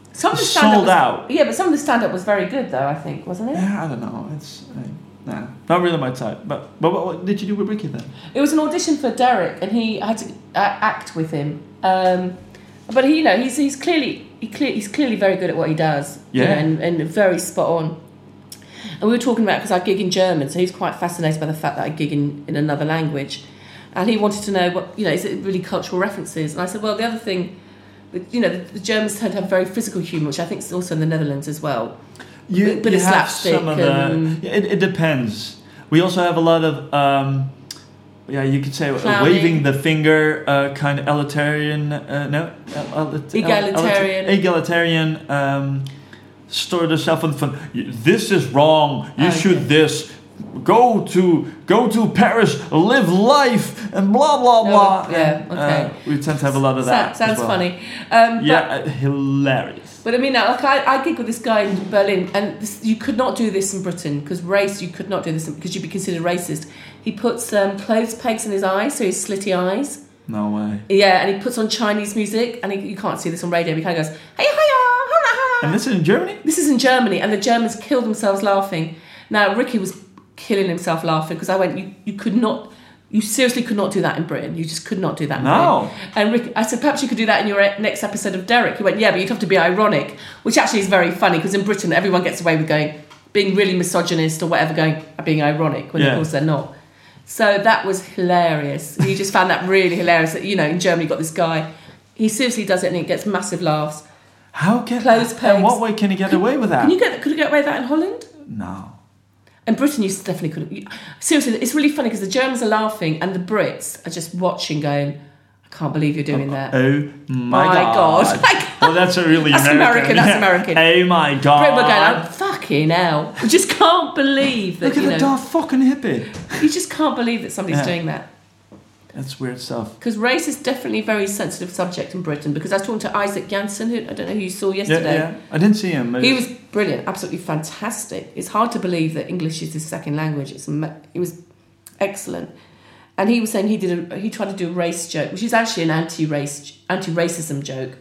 Some of the stand-up sold was, out. Yeah, but some of the stand-up was very good, though, I think, wasn't it? Yeah, I don't know. It's uh, nah, not really my type. But but what, what did you do with Ricky then? It was an audition for Derek, and he had to uh, act with him. Um, but he, you know, he's he's clearly he clear, he's clearly very good at what he does. Yeah, you know, and, and very spot on. And we were talking about, because I gig in German, so he's quite fascinated by the fact that I gig in, in another language, and he wanted to know what, you know, is it really cultural references? And I said, well, the other thing, you know, the, the Germans tend to have very physical humour, which I think is also in the Netherlands as well. You, But you it's have slapstick some of the. and- It, it depends. We also have a lot of. Um, yeah, you could say Clowning. waving the finger, uh, kind of egalitarian. Uh, no, el- el- Egalitarian. el- egalitarian. Um, sort of self on fun. This is wrong. You Oh, should okay. this. Go to go to Paris, live life, and blah blah blah. Oh, yeah, And, okay. uh, we tend to have a lot of that. Sounds as well. funny. Um, Yeah, but, uh, hilarious. but I mean, like I, I gig with this guy in Berlin, and this, you could not do this in Britain because race. You could not do this because you'd be considered racist. He puts um, clothes pegs in his eyes, so his slitty eyes. No way. Yeah, and he puts on Chinese music, and he, you can't see this on radio. But he kind of goes, "Hey, hiya, hola, hola." And this is in Germany? This is in Germany, and the Germans killed themselves laughing. Now Ricky was killing himself laughing because I went, you, you could not, you seriously could not do that in Britain. You just could not do that in No. Britain. And Rick, I said, perhaps you could do that in your next episode of Derek. He went, yeah, but you'd have to be ironic, which actually is very funny because in Britain everyone gets away with going, being really misogynist or whatever, going, being ironic, when Yeah. of course they're not. So that was hilarious. He just found that really hilarious that, you know, in Germany you've got this guy, he seriously does it and he gets massive laughs. How can Clothes in pegs. what way can he get away with that? Can you get, could you get away with that in Holland? No. In Britain, you definitely couldn't. You, seriously, it's really funny because the Germans are laughing and the Brits are just watching, going, "I can't believe you're doing that." Oh my, My god! God. My God. Well, that's a really That's American. American, that's yeah. American. Oh my god! Brit were going, "Oh, fucking hell!" We just can't believe that. Look at you the know, daft fucking hippie. you just can't believe that somebody's Yeah. doing that. That's weird stuff. Because race is definitely a very sensitive subject in Britain. Because I was talking to Isaac Janssen, who I don't know who you saw Yeah, yesterday. yeah. I didn't see him. but He it's- was brilliant, absolutely fantastic. It's hard to believe that English is his second language. It's ama- it was excellent, and he was saying he did a, he tried to do a race joke, which is actually an anti-race anti-racism joke,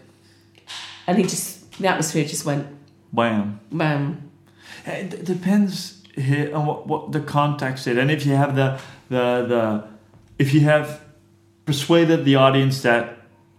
and he just the atmosphere just went Wham. bam. It d- depends here on what, what the context is, and if you have the the the if you have persuaded the audience that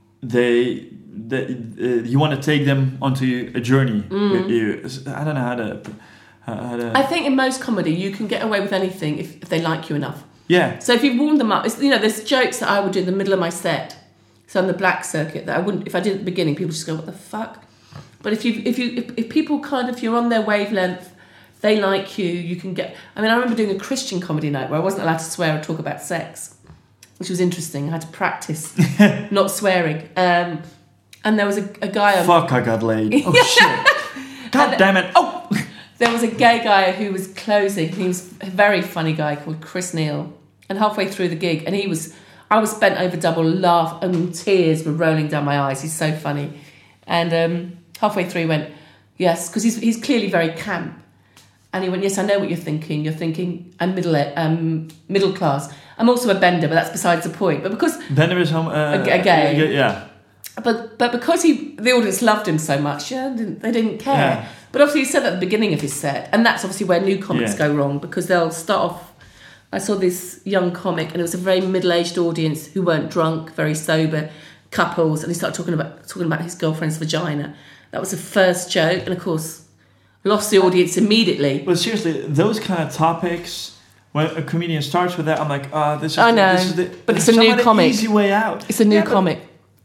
they that uh, you want to take them onto a journey with you. I don't know how to how to. I think in most comedy you can get away with anything if, if they like you enough. yeah. So if you've warmed them up, it's, you know, there's jokes that I would do in the middle of my set. So on the black circuit that I wouldn't, if I did at the beginning, people just go, "What the fuck?" But if you, if you, if, if people kind of, if you're on their wavelength, they like you, you can get. I mean, I remember doing a Christian comedy night where I wasn't allowed to swear or talk about sex, which was interesting. I had to practice not swearing. Um, and there was a, a guy on. Fuck! I got laid. Oh shit! God And- damn it! Oh. There was a gay guy who was closing. He was a very funny guy called Chris Neal. And halfway through the gig, and he was, I was bent over double, laugh, and tears were rolling down my eyes. He's so funny. And um, halfway through, he went, yes, because he's he's clearly very camp. And he went, yes, I know what you're thinking. You're thinking I'm middle um, middle class. I'm also a bender, but that's besides the point. But because Then there is home. Uh, A- a gay. Yeah. But but because he the audience loved him so much, yeah, didn't, they didn't care. Yeah. But obviously he said that at the beginning of his set, and that's obviously where new comics Yeah. go wrong because they'll start off. I saw this young comic, and it was a very middle-aged audience who weren't drunk, very sober couples, and he started talking about talking about his girlfriend's vagina. That was the first joke, and of course, lost the audience immediately. But seriously, those kind of topics. When a comedian starts with that, I'm like, ah, this is. I know, this is the, but it's a new somewhat an comic. Easy way out. It's a new Yeah, but comic.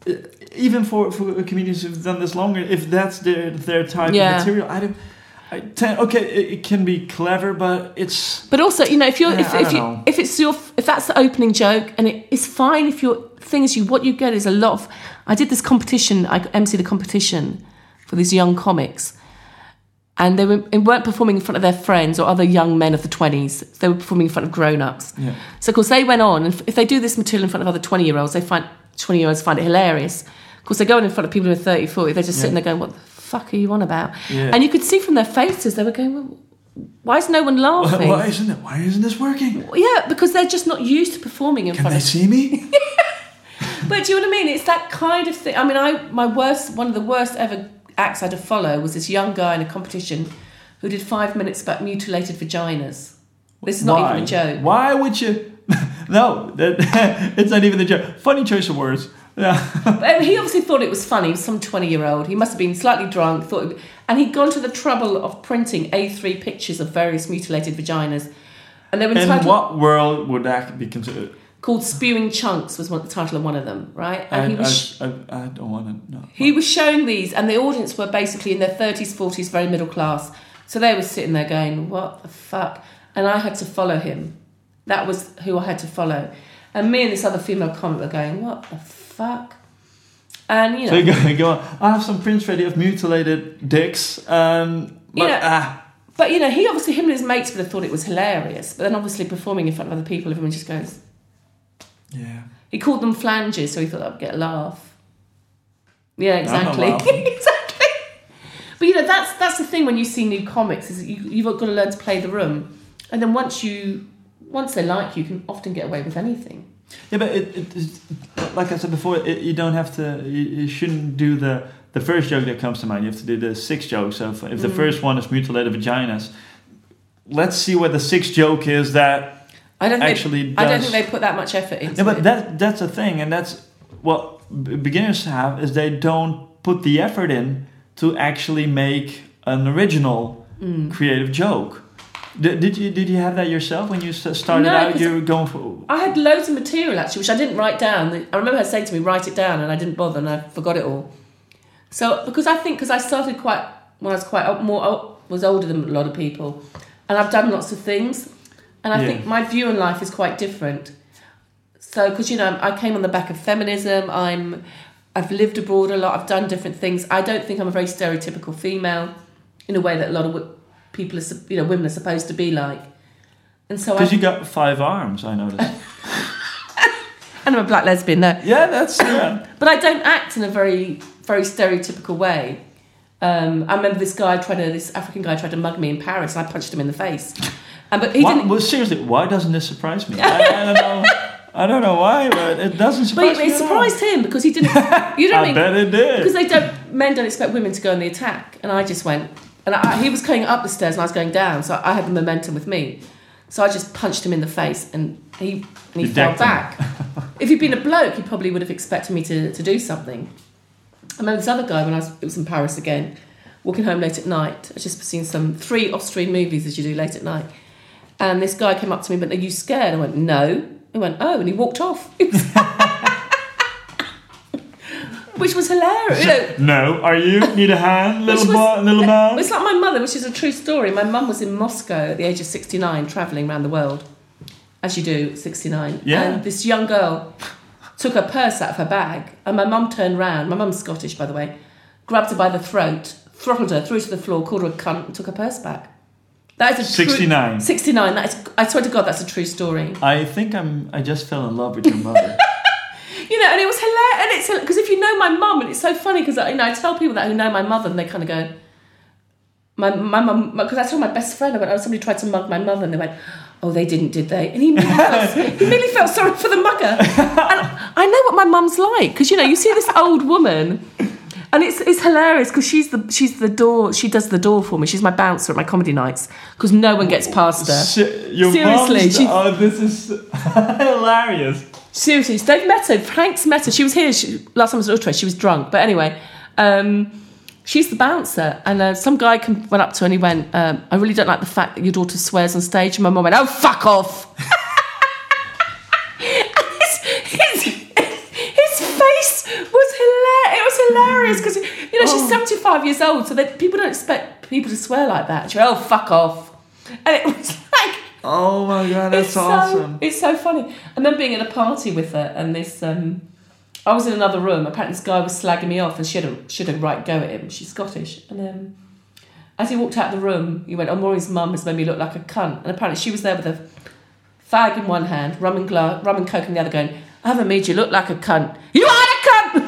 Even for, for comedians who've done this longer, if that's their their type Yeah. of material, I don't. I tend, okay, it, it can be clever, but it's. But also, you know, if you're Yeah, if, I if don't you know. if it's your if that's the opening joke, and it, it's fine if your thing is you what you get is a lot of. I did this competition. I emceed a competition for these young comics, and they, were, they weren't performing in front of their friends or other young men of the twenties. They were performing in front of grown-ups. Yeah. So of course they went on, and if they do this material in front of other twenty-year-olds, they find twenty-year-olds find it hilarious. Of course, they go in front of people who are thirty, forty. They're just Yeah. sitting there going, "What the fuck are you on about?" Yeah. And you could see from their faces they were going, well, "Why is no one laughing?" Why isn't it? Why isn't this working? Yeah, because they're just not used to performing in Can front they of. see me? But do you know what I mean? It's that kind of thing. I mean, I my worst, one of the worst ever acts I had to follow was this young guy in a competition who did five minutes about mutilated vaginas. This is not Why? even a joke. Why would you? No, that, it's not even a joke. Funny choice of words. Yeah. But he obviously thought it was funny. He was some twenty-year-old. He must have been slightly drunk. Thought, it, and he'd gone to the trouble of printing A three pictures of various mutilated vaginas, and they were In entitled, what world would that be considered? called "Spewing Chunks" was one, the title of one of them, right? And I, he was I, I, I don't want to know. he was showing these, and the audience were basically in their thirties, forties, very middle class. So they were sitting there going, "What the fuck?" And I had to follow him. That was who I had to follow. And me and this other female comic were going, "What the fuck?" And, you know... So you go, go on, I have some prints ready of mutilated dicks. Um, but, You know, ah. But, you know, he obviously, him and his mates would have thought it was hilarious. But then obviously performing in front of other people, everyone just goes... Yeah. He called them flanges, so he thought I'd get a laugh. Yeah, exactly. I'm not laughing. Exactly. But, you know, that's that's the thing when you see new comics, is that you, you've got to learn to play the room. And then once you... Once they like you, you can often get away with anything. Yeah, but it, it, it, like I said before, it, you don't have to. You, you shouldn't do the the first joke that comes to mind. You have to do the sixth joke. So if, if the Mm. first one is mutilated vaginas, let's see what the sixth joke is that I don't think actually they, does. I don't think they put that much effort into Yeah, but it. that that's a thing, and that's what b- beginners have is they don't put the effort in to actually make an original Mm. creative joke. Did, did you did you have that yourself when you s- started No, out? 'cause You were going for. I had loads of material actually, which I didn't write down. I remember her saying to me, "Write it down," and I didn't bother, and I forgot it all. So because I think because I started quite when I was quite o- more o- was older than a lot of people, and I've done lots of things, and I Yeah. think my view on life is quite different. So because you know I came on the back of feminism, I'm I've lived abroad a lot, I've done different things. I don't think I'm a very stereotypical female in a way that a lot of wo- people are sup- you know women are supposed to be like, and so I Because you got five arms, I noticed. and I'm a black lesbian, no. Yeah, that's yeah. But I don't act in a very, very stereotypical way. Um, I remember this guy tried to, this African guy tried to mug me in Paris, and I punched him in the face. And but he Why, didn't. well, seriously, why doesn't this surprise me? I, I don't know. I don't know why, but it doesn't But surprise it, me. it surprised him because he didn't. You know what I I mean? bet it did. Because they don't. Men don't expect women to go on the attack, and I just went. And I, he was going up the stairs, and I was going down, so I had the momentum with me. So I just punched him in the face, and he and he You fell decked him. back. If he'd been a bloke, he probably would have expected me to, to do something. I remember this other guy when I was, it was in Paris again, walking home late at night. I just seen some three Austrian movies as you do late at night. And this guy came up to me and went, "Are you scared?" I went, "No." He went, "Oh," and he walked off. Which was hilarious. You know, No, are you? Need a hand, little Which was- boy, little man? it's like my mother, which is a true story. My mum was in Moscow at the age of sixty-nine, travelling around the world, as you do at sixty-nine. Yeah. And this young girl took her purse out of her bag, and my mum turned round. My mum's Scottish, by the way. Grabbed her by the throat, throttled her, threw her to the floor, called her a cunt, and took her purse back. That is a true- sixty-nine. sixty-nine. That is, I swear to God, that's a true story. I think I'm. I just fell in love with your mother. You know, and it was hilarious. And it's because if you know my mum, and it's so funny because you know I tell people that who know my mother, and they kind of go, my my mum, because I told my best friend, I went, "Oh, somebody tried to mug my mother," and they went, "Oh, they didn't, did they?" And he immediately felt, he immediately felt sorry for the mugger. And I know what my mum's like because you know you see this old woman. And it's it's hilarious because she's the she's the door she does the door for me. She's my bouncer at my comedy nights because no one gets past her. Shit, your Seriously, mom's- she- oh, this is hilarious. Seriously, they've met her. Frank's met her. She was here she, last time I was at Utrecht. She was drunk, but anyway, um, she's the bouncer. And uh, some guy come, went up to her and he went, um, "I really don't like the fact that your daughter swears on stage." And my mum went, "Oh, fuck off!" his, his, his face was hilarious. It was hilarious because you know she's Oh. seventy-five years old, so that people don't expect people to swear like that. She went, "Oh, fuck off," and it was like. Oh my god, that's it's awesome. So, it's so funny. And then being at a party with her, and this, um, I was in another room. Apparently, this guy was slagging me off, and she had a, she had a right go at him. She's Scottish, and um, as he walked out of the room, he went, "Oh, Maureen's mum has made me look like a cunt." And apparently, she was there with a fag in one hand, rum and gla- rum and coke in the other, going, "I haven't made you look like a cunt. You are a cunt."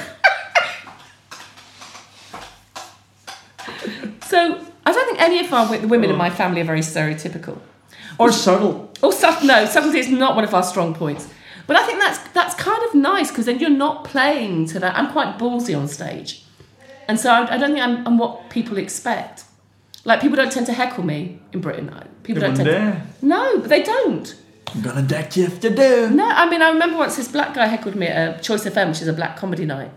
So I don't think any of our the women in my family are very stereotypical. Or subtle. Or subtle, no, subtlety is not one of our strong points. But I think that's that's kind of nice because then you're not playing to that. I'm quite ballsy on stage. And so I, I don't think I'm, I'm what people expect. Like, people don't tend to heckle me in Britain. People They don't tend wouldn't to... dare. No, but they don't. I'm gonna deck you if they do. No, I mean, I remember once this black guy heckled me at a Choice F M, which is a black comedy night.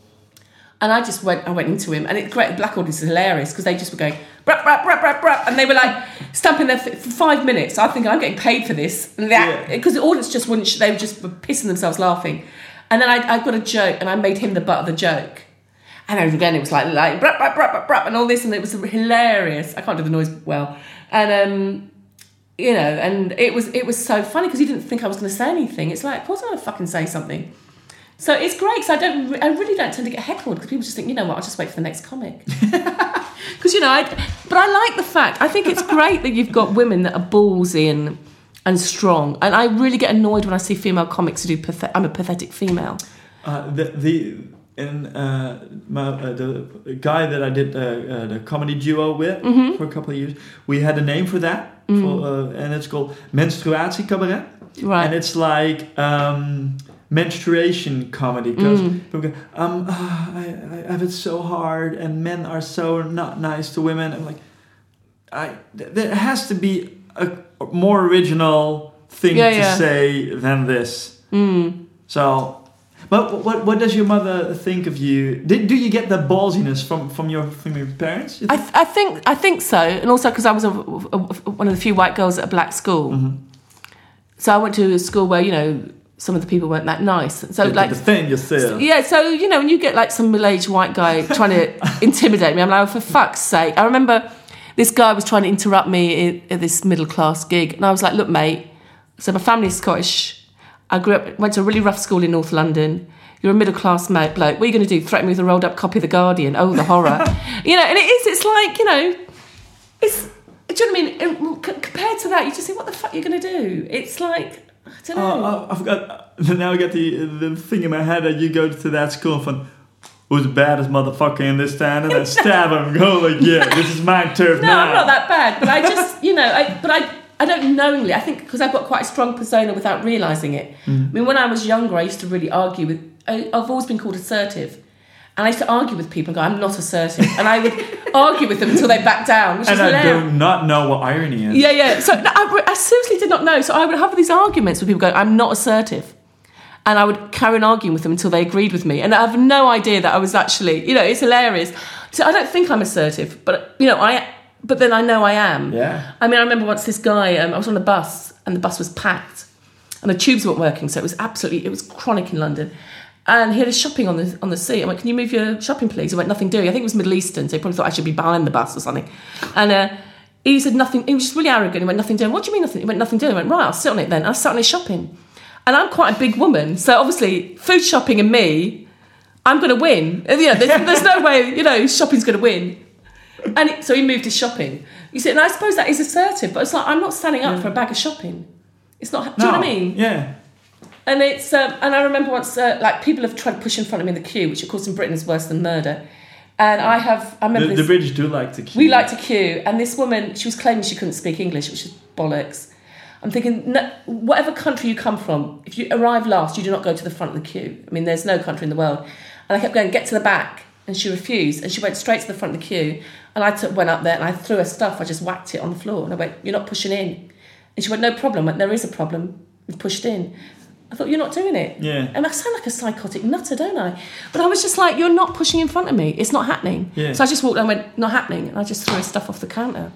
And I just went I went into him. And it's great, the black audience is hilarious because they just were going, brap, brap, brap, brap, brap. And they were like stamping there for, for five minutes. I think I'm getting paid for this. And that, because yeah. the audience just wouldn't, they were just were pissing themselves laughing. And then I, I got a joke and I made him the butt of the joke. And again, it was like, like brap, brap, brap, brap, brap, and all this. And it was hilarious. I can't do the noise well. And, um... you know, and it was it was so funny because he didn't think I was going to say anything. It's like, of course I'm going to fucking say something. So it's great because I don't, I really don't tend to get heckled because people just think, you know what, I'll just wait for the next comic. Because you know, I, but I like the fact. I think it's great that you've got women that are ballsy and and strong. And I really get annoyed when I see female comics who do. Pathet- I'm a pathetic female. Uh, the the in uh, my, uh, the guy that I did uh, uh, the comedy duo with mm-hmm. for a couple of years, we had a name for that, mm. for, uh, and it's called Menstruatie Cabaret. Right. And it's like um, menstruation comedy because mm. people go, um, oh, I, I have it so hard, and men are so not nice to women. I'm like, I there has to be a more original thing yeah, to yeah. say than this. Mm. So. But what what does your mother think of you? Did do you get the ballsiness from, from your from your parents? You I th- I think I think so, and also because I was a, a, one of the few white girls at a black school, mm-hmm. so I went to a school where you know some of the people weren't that nice. So Did like the thing you said. Yeah, so you know when you get like some middle-aged white guy trying to intimidate me, I'm like, oh, for fuck's sake! I remember this guy was trying to interrupt me at, at this middle-class gig, and I was like, look, mate. So my family's Scottish. I grew up, went to a really rough school in North London. You're a middle-class mate bloke. What are you going to do? Threaten me with a rolled-up copy of The Guardian? Oh, the horror. You know, and it is, it's like, you know, it's, do you know what I mean? C- compared to that, you just think, what the fuck are you going to do? It's like, I don't know. Oh, I've got, now I get the the thing in my head that you go to that school from, who's the baddest motherfucker in this town? And I stab him and go like, yeah, this is my turf no, now. No, I'm not that bad. But I just, you know, I, but I... I don't knowingly, I think because I've got quite a strong persona without realising it. Mm. I mean, when I was younger, I used to really argue with, I, I've always been called assertive. And I used to argue with people and go, I'm not assertive. And I would argue with them until they backed down, which and is I hilarious. do not know what irony is. Yeah, yeah. So no, I, I seriously did not know. So I would have these arguments with people going, I'm not assertive. And I would carry on arguing with them until they agreed with me. And I have no idea that I was actually, you know, it's hilarious. So I don't think I'm assertive, but, you know, I... But then I know I am. Yeah. I mean, I remember once this guy, um, I was on a bus and the bus was packed and the tubes weren't working. So it was absolutely, it was chronic in London. And he had his shopping on the on the seat. I went, can you move your shopping, please? He went, nothing doing. I think it was Middle Eastern. So he probably thought I should be behind the bus or something. And uh, he said, nothing. He was just really arrogant. He went, nothing doing. What do you mean nothing? He went, nothing doing. I went, right, I'll sit on it then. And I sat on his shopping. And I'm quite a big woman. So obviously, food shopping and me, I'm going to win. You know, there's, there's no way, you know, shopping's going to win. And it, so he moved his shopping. You see, and I suppose that is assertive, but it's like I'm not standing up yeah. for a bag of shopping. It's not. Do no. you know what I mean? Yeah. And it's um, and I remember once, uh, like people have tried to push in front of me in the queue, which of course in Britain is worse than murder. And I have, I remember the, this, the British do like to queue. We like to queue, and this woman, she was claiming she couldn't speak English, which is bollocks. I'm thinking, no, whatever country you come from, if you arrive last, you do not go to the front of the queue. I mean, there's no country in the world. And I kept going, get to the back. And she refused, and she went straight to the front of the queue. And I took, went up there, and I threw her stuff. I just whacked it on the floor, and I went, "You're not pushing in." And she went, "No problem." I went, "There is a problem. We've pushed in." I thought, "You're not doing it." Yeah. And I sound like a psychotic nutter, don't I? But I was just like, "You're not pushing in front of me. It's not happening." Yeah. So I just walked and went, "Not happening," and I just threw her stuff off the counter.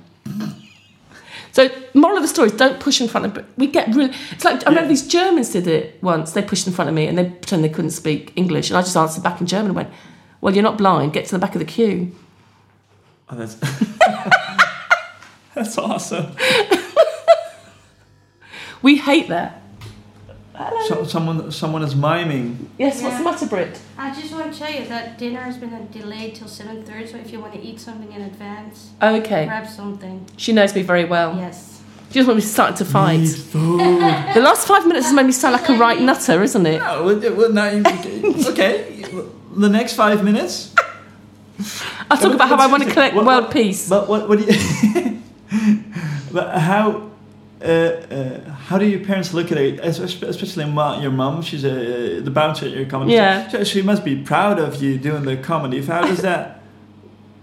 So, moral of the story is don't push in front of... We get really... It's like, I remember yeah. these Germans did it once. They pushed in front of me, and they pretended they couldn't speak English, and I just answered back in German and went, well, you're not blind. Get to the back of the queue. Oh, that's that's awesome. We hate that. So, someone, someone is miming. Yes. Yeah. What's the matter, Britt? I just want to tell you that dinner has been delayed till seven thirty. So if you want to eat something in advance, okay, grab something. She knows me very well. Yes. She just when we started to fight. Need food. The last five minutes has made me sound like a right nutter, isn't it? No, well, well, now you, okay. The next five minutes. I'll talk about how I want to collect what, world what, peace. But what? What do you? But how? Uh, uh, how do your parents look at it? Especially ma, your mum. She's a, uh, the bouncer at your comedy. Yeah. So she must be proud of you doing the comedy. How does that?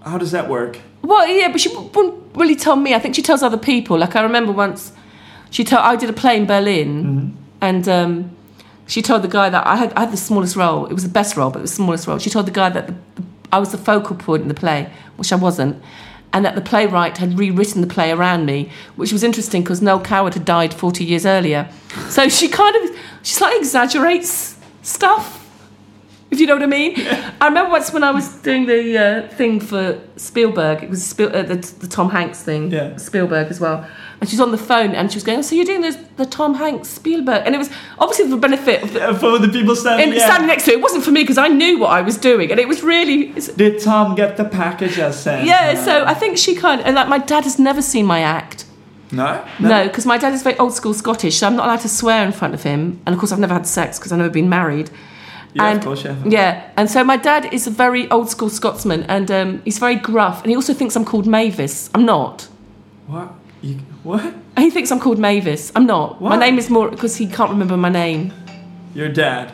How does that work? Well, yeah, but she wouldn't really tell me. I think she tells other people. Like, I remember once, she told I did a play in Berlin, mm-hmm. and um, she told the guy that I had I had the smallest role. It was the best role, but it was the smallest role. She told the guy that the, the, I was the focal point in the play, which I wasn't, and that the playwright had rewritten the play around me, which was interesting because Noel Coward had died forty years earlier. So she kind of, she slightly exaggerates stuff, if you know what I mean. Yeah. I remember once when I was doing the uh, thing for Spielberg, it was Spiel, uh, the, the Tom Hanks thing, yeah. Spielberg as well, and she was on the phone and she was going, oh, so you're doing this, the Tom Hanks Spielberg, and it was obviously for the benefit of the, yeah, for the people standing, in, yeah. standing next to it. It wasn't for me because I knew what I was doing, and it was really... Did Tom get the package as sent? Yeah, no. So I think she kind of... And like, my dad has never seen my act. No? No, because my dad is very old school Scottish, so I'm not allowed to swear in front of him, and of course I've never had sex because I've never been married. Yeah, and, of course, yeah. Yeah, and so my dad is a very old school Scotsman, and um, he's very gruff, and he also thinks I'm called Mavis. I'm not. What? You, what? He thinks I'm called Mavis. I'm not. What? My name is more because he can't remember my name. Your dad.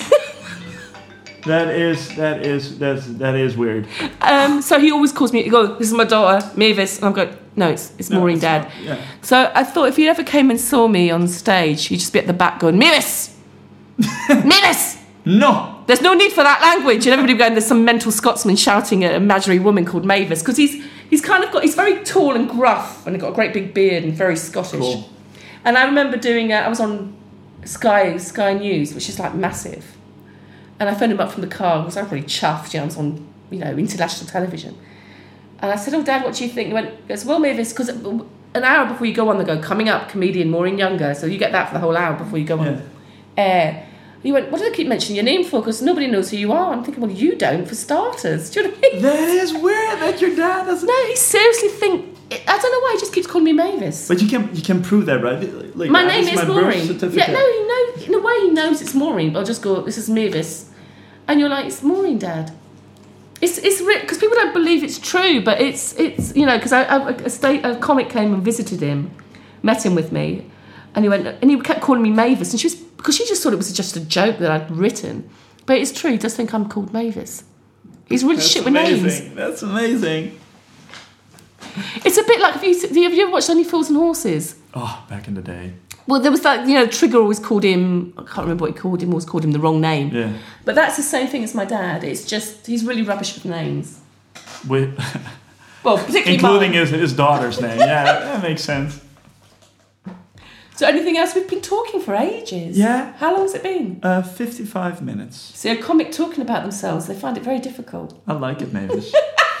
that is that is that's that is weird. Um, so he always calls me. He goes, "This is my daughter, Mavis," and I'm going, "No, it's it's no, Maureen, it's Dad." Not, yeah. So I thought if he ever came and saw me on stage, he'd just be at the back going, "Mavis, Mavis." No. There's no need for that language, and everybody going, there's some mental Scotsman shouting at an imaginary woman called Mavis, because he's he's kind of got, he's very tall and gruff, and he's got a great big beard and very Scottish. Cool. And I remember doing, uh, I was on Sky Sky News, which is like massive, and I phoned him up from the car, because I was really chuffed, you know, I was on, you know, international television. And I said, oh, Dad, what do you think? He went, he goes, well, Mavis, because an hour before you go on, they go, coming up, comedian Maureen Younger, so you get that for the whole hour before you go on air. Uh, He went, what do they keep mentioning your name for? Because nobody knows who you are. I'm thinking, well, you don't, for starters. Do you know what I mean? That is weird that your dad doesn't... No, he seriously think... I don't know why he just keeps calling me Mavis. But you can you can prove that, right? Like, my name is my Maureen. Yeah, no, he knows... In a way, he knows it's Maureen, but I'll just go, this is Mavis. And you're like, it's Maureen, Dad. It's it's because people don't believe it's true, but it's, it's you know, because I, I, a, state, a comic came and visited him, met him with me, and he went, and he kept calling me Mavis, and she was... Because she just thought it was just a joke that I'd written. But it's true, he does think I'm called Mavis. He's really That's shit with amazing. names. That's amazing. It's a bit like, have you, have you ever watched Only Fools and Horses? Oh, back in the day. Well, there was that, you know, Trigger always called him, I can't remember what he called him, always called him the wrong name. Yeah. But that's the same thing as my dad. It's just, he's really rubbish with names. With well, particularly including mine. his, his daughter's name. Yeah, that makes sense. So anything else? We've been talking for ages. Yeah. How long has it been? Uh, fifty-five minutes. See, a comic talking about themselves, they find it very difficult. I like it, Mavis.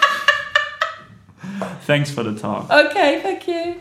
Thanks for the talk. Okay, thank you.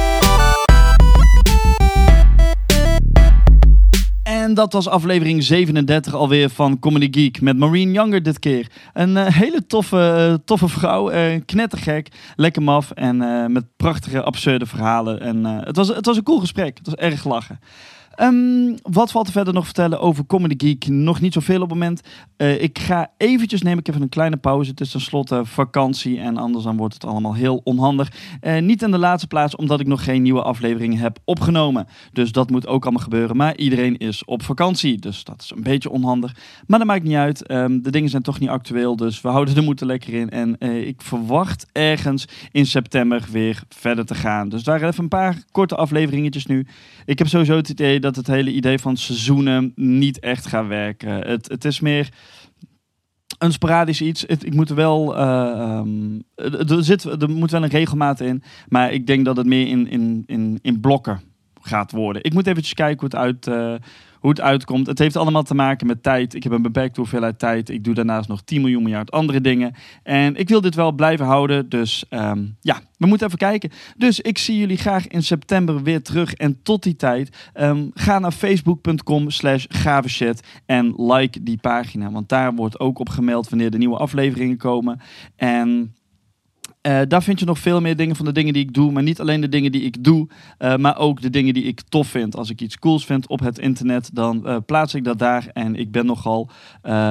En dat was aflevering zevenendertig alweer van Comedy Geek met Maureen Younger dit keer. Een uh, hele toffe, uh, toffe vrouw, uh, knettergek, lekker maf en uh, met prachtige absurde verhalen. En uh, het was, het was een cool gesprek, het was erg lachen. Um, wat valt er verder nog vertellen over Comedy Geek? Nog niet zoveel op het moment. Uh, ik ga eventjes nemen, ik heb even een kleine pauze. Het is tenslotte vakantie en anders dan wordt het allemaal heel onhandig. Uh, niet in de laatste plaats, omdat ik nog geen nieuwe afleveringen heb opgenomen. Dus dat moet ook allemaal gebeuren. Maar iedereen is op vakantie, dus dat is een beetje onhandig. Maar dat maakt niet uit. Um, de dingen zijn toch niet actueel, dus we houden de moed er lekker in. En uh, ik verwacht ergens in september weer verder te gaan. Dus daar even een paar korte afleveringetjes nu. Ik heb sowieso het idee dat het hele idee van seizoenen niet echt gaat werken. Het, het is meer een sporadisch iets. Het, ik moet er wel... Uh, um, er, zit, er moet wel een regelmaat in. Maar ik denk dat het meer in, in, in, in blokken gaat worden. Ik moet eventjes kijken hoe het, uit, uh, hoe het uitkomt. Het heeft allemaal te maken met tijd. Ik heb een beperkte hoeveelheid tijd. Ik doe daarnaast nog tien miljoen miljard andere dingen. En ik wil dit wel blijven houden. Dus um, ja, we moeten even kijken. Dus ik zie jullie graag in september weer terug. En tot die tijd, um, ga naar facebook.com slash gaveshit en like die pagina. Want daar wordt ook op gemeld wanneer de nieuwe afleveringen komen. En... Uh, daar vind je nog veel meer dingen van de dingen die ik doe. Maar niet alleen de dingen die ik doe. Uh, maar ook de dingen die ik tof vind. Als ik iets cools vind op het internet. Dan uh, plaats ik dat daar. En ik ben nogal uh,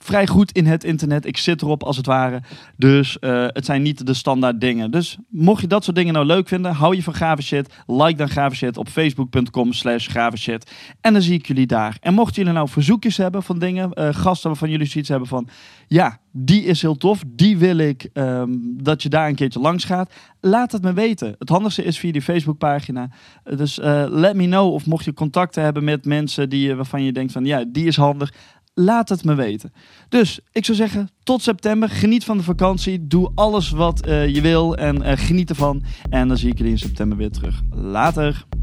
vrij goed in het internet. Ik zit erop als het ware. Dus uh, het zijn niet de standaard dingen. Dus mocht je dat soort dingen nou leuk vinden, hou je van gave shit, like dan gave shit op facebook.com slash gave shit. En dan zie ik jullie daar. En mochten jullie nou verzoekjes hebben van dingen, uh, gasten waarvan jullie zoiets hebben van, ja, die is heel tof, die wil ik um, dat je daar een keertje langs gaat. Laat het me weten. Het handigste is via die Facebookpagina. Dus uh, let me know. Of mocht je contacten hebben met mensen die, waarvan je denkt van, ja, die is handig. Laat het me weten. Dus ik zou zeggen, tot september. Geniet van de vakantie. Doe alles wat uh, je wil en uh, geniet ervan. En dan zie ik jullie in september weer terug. Later.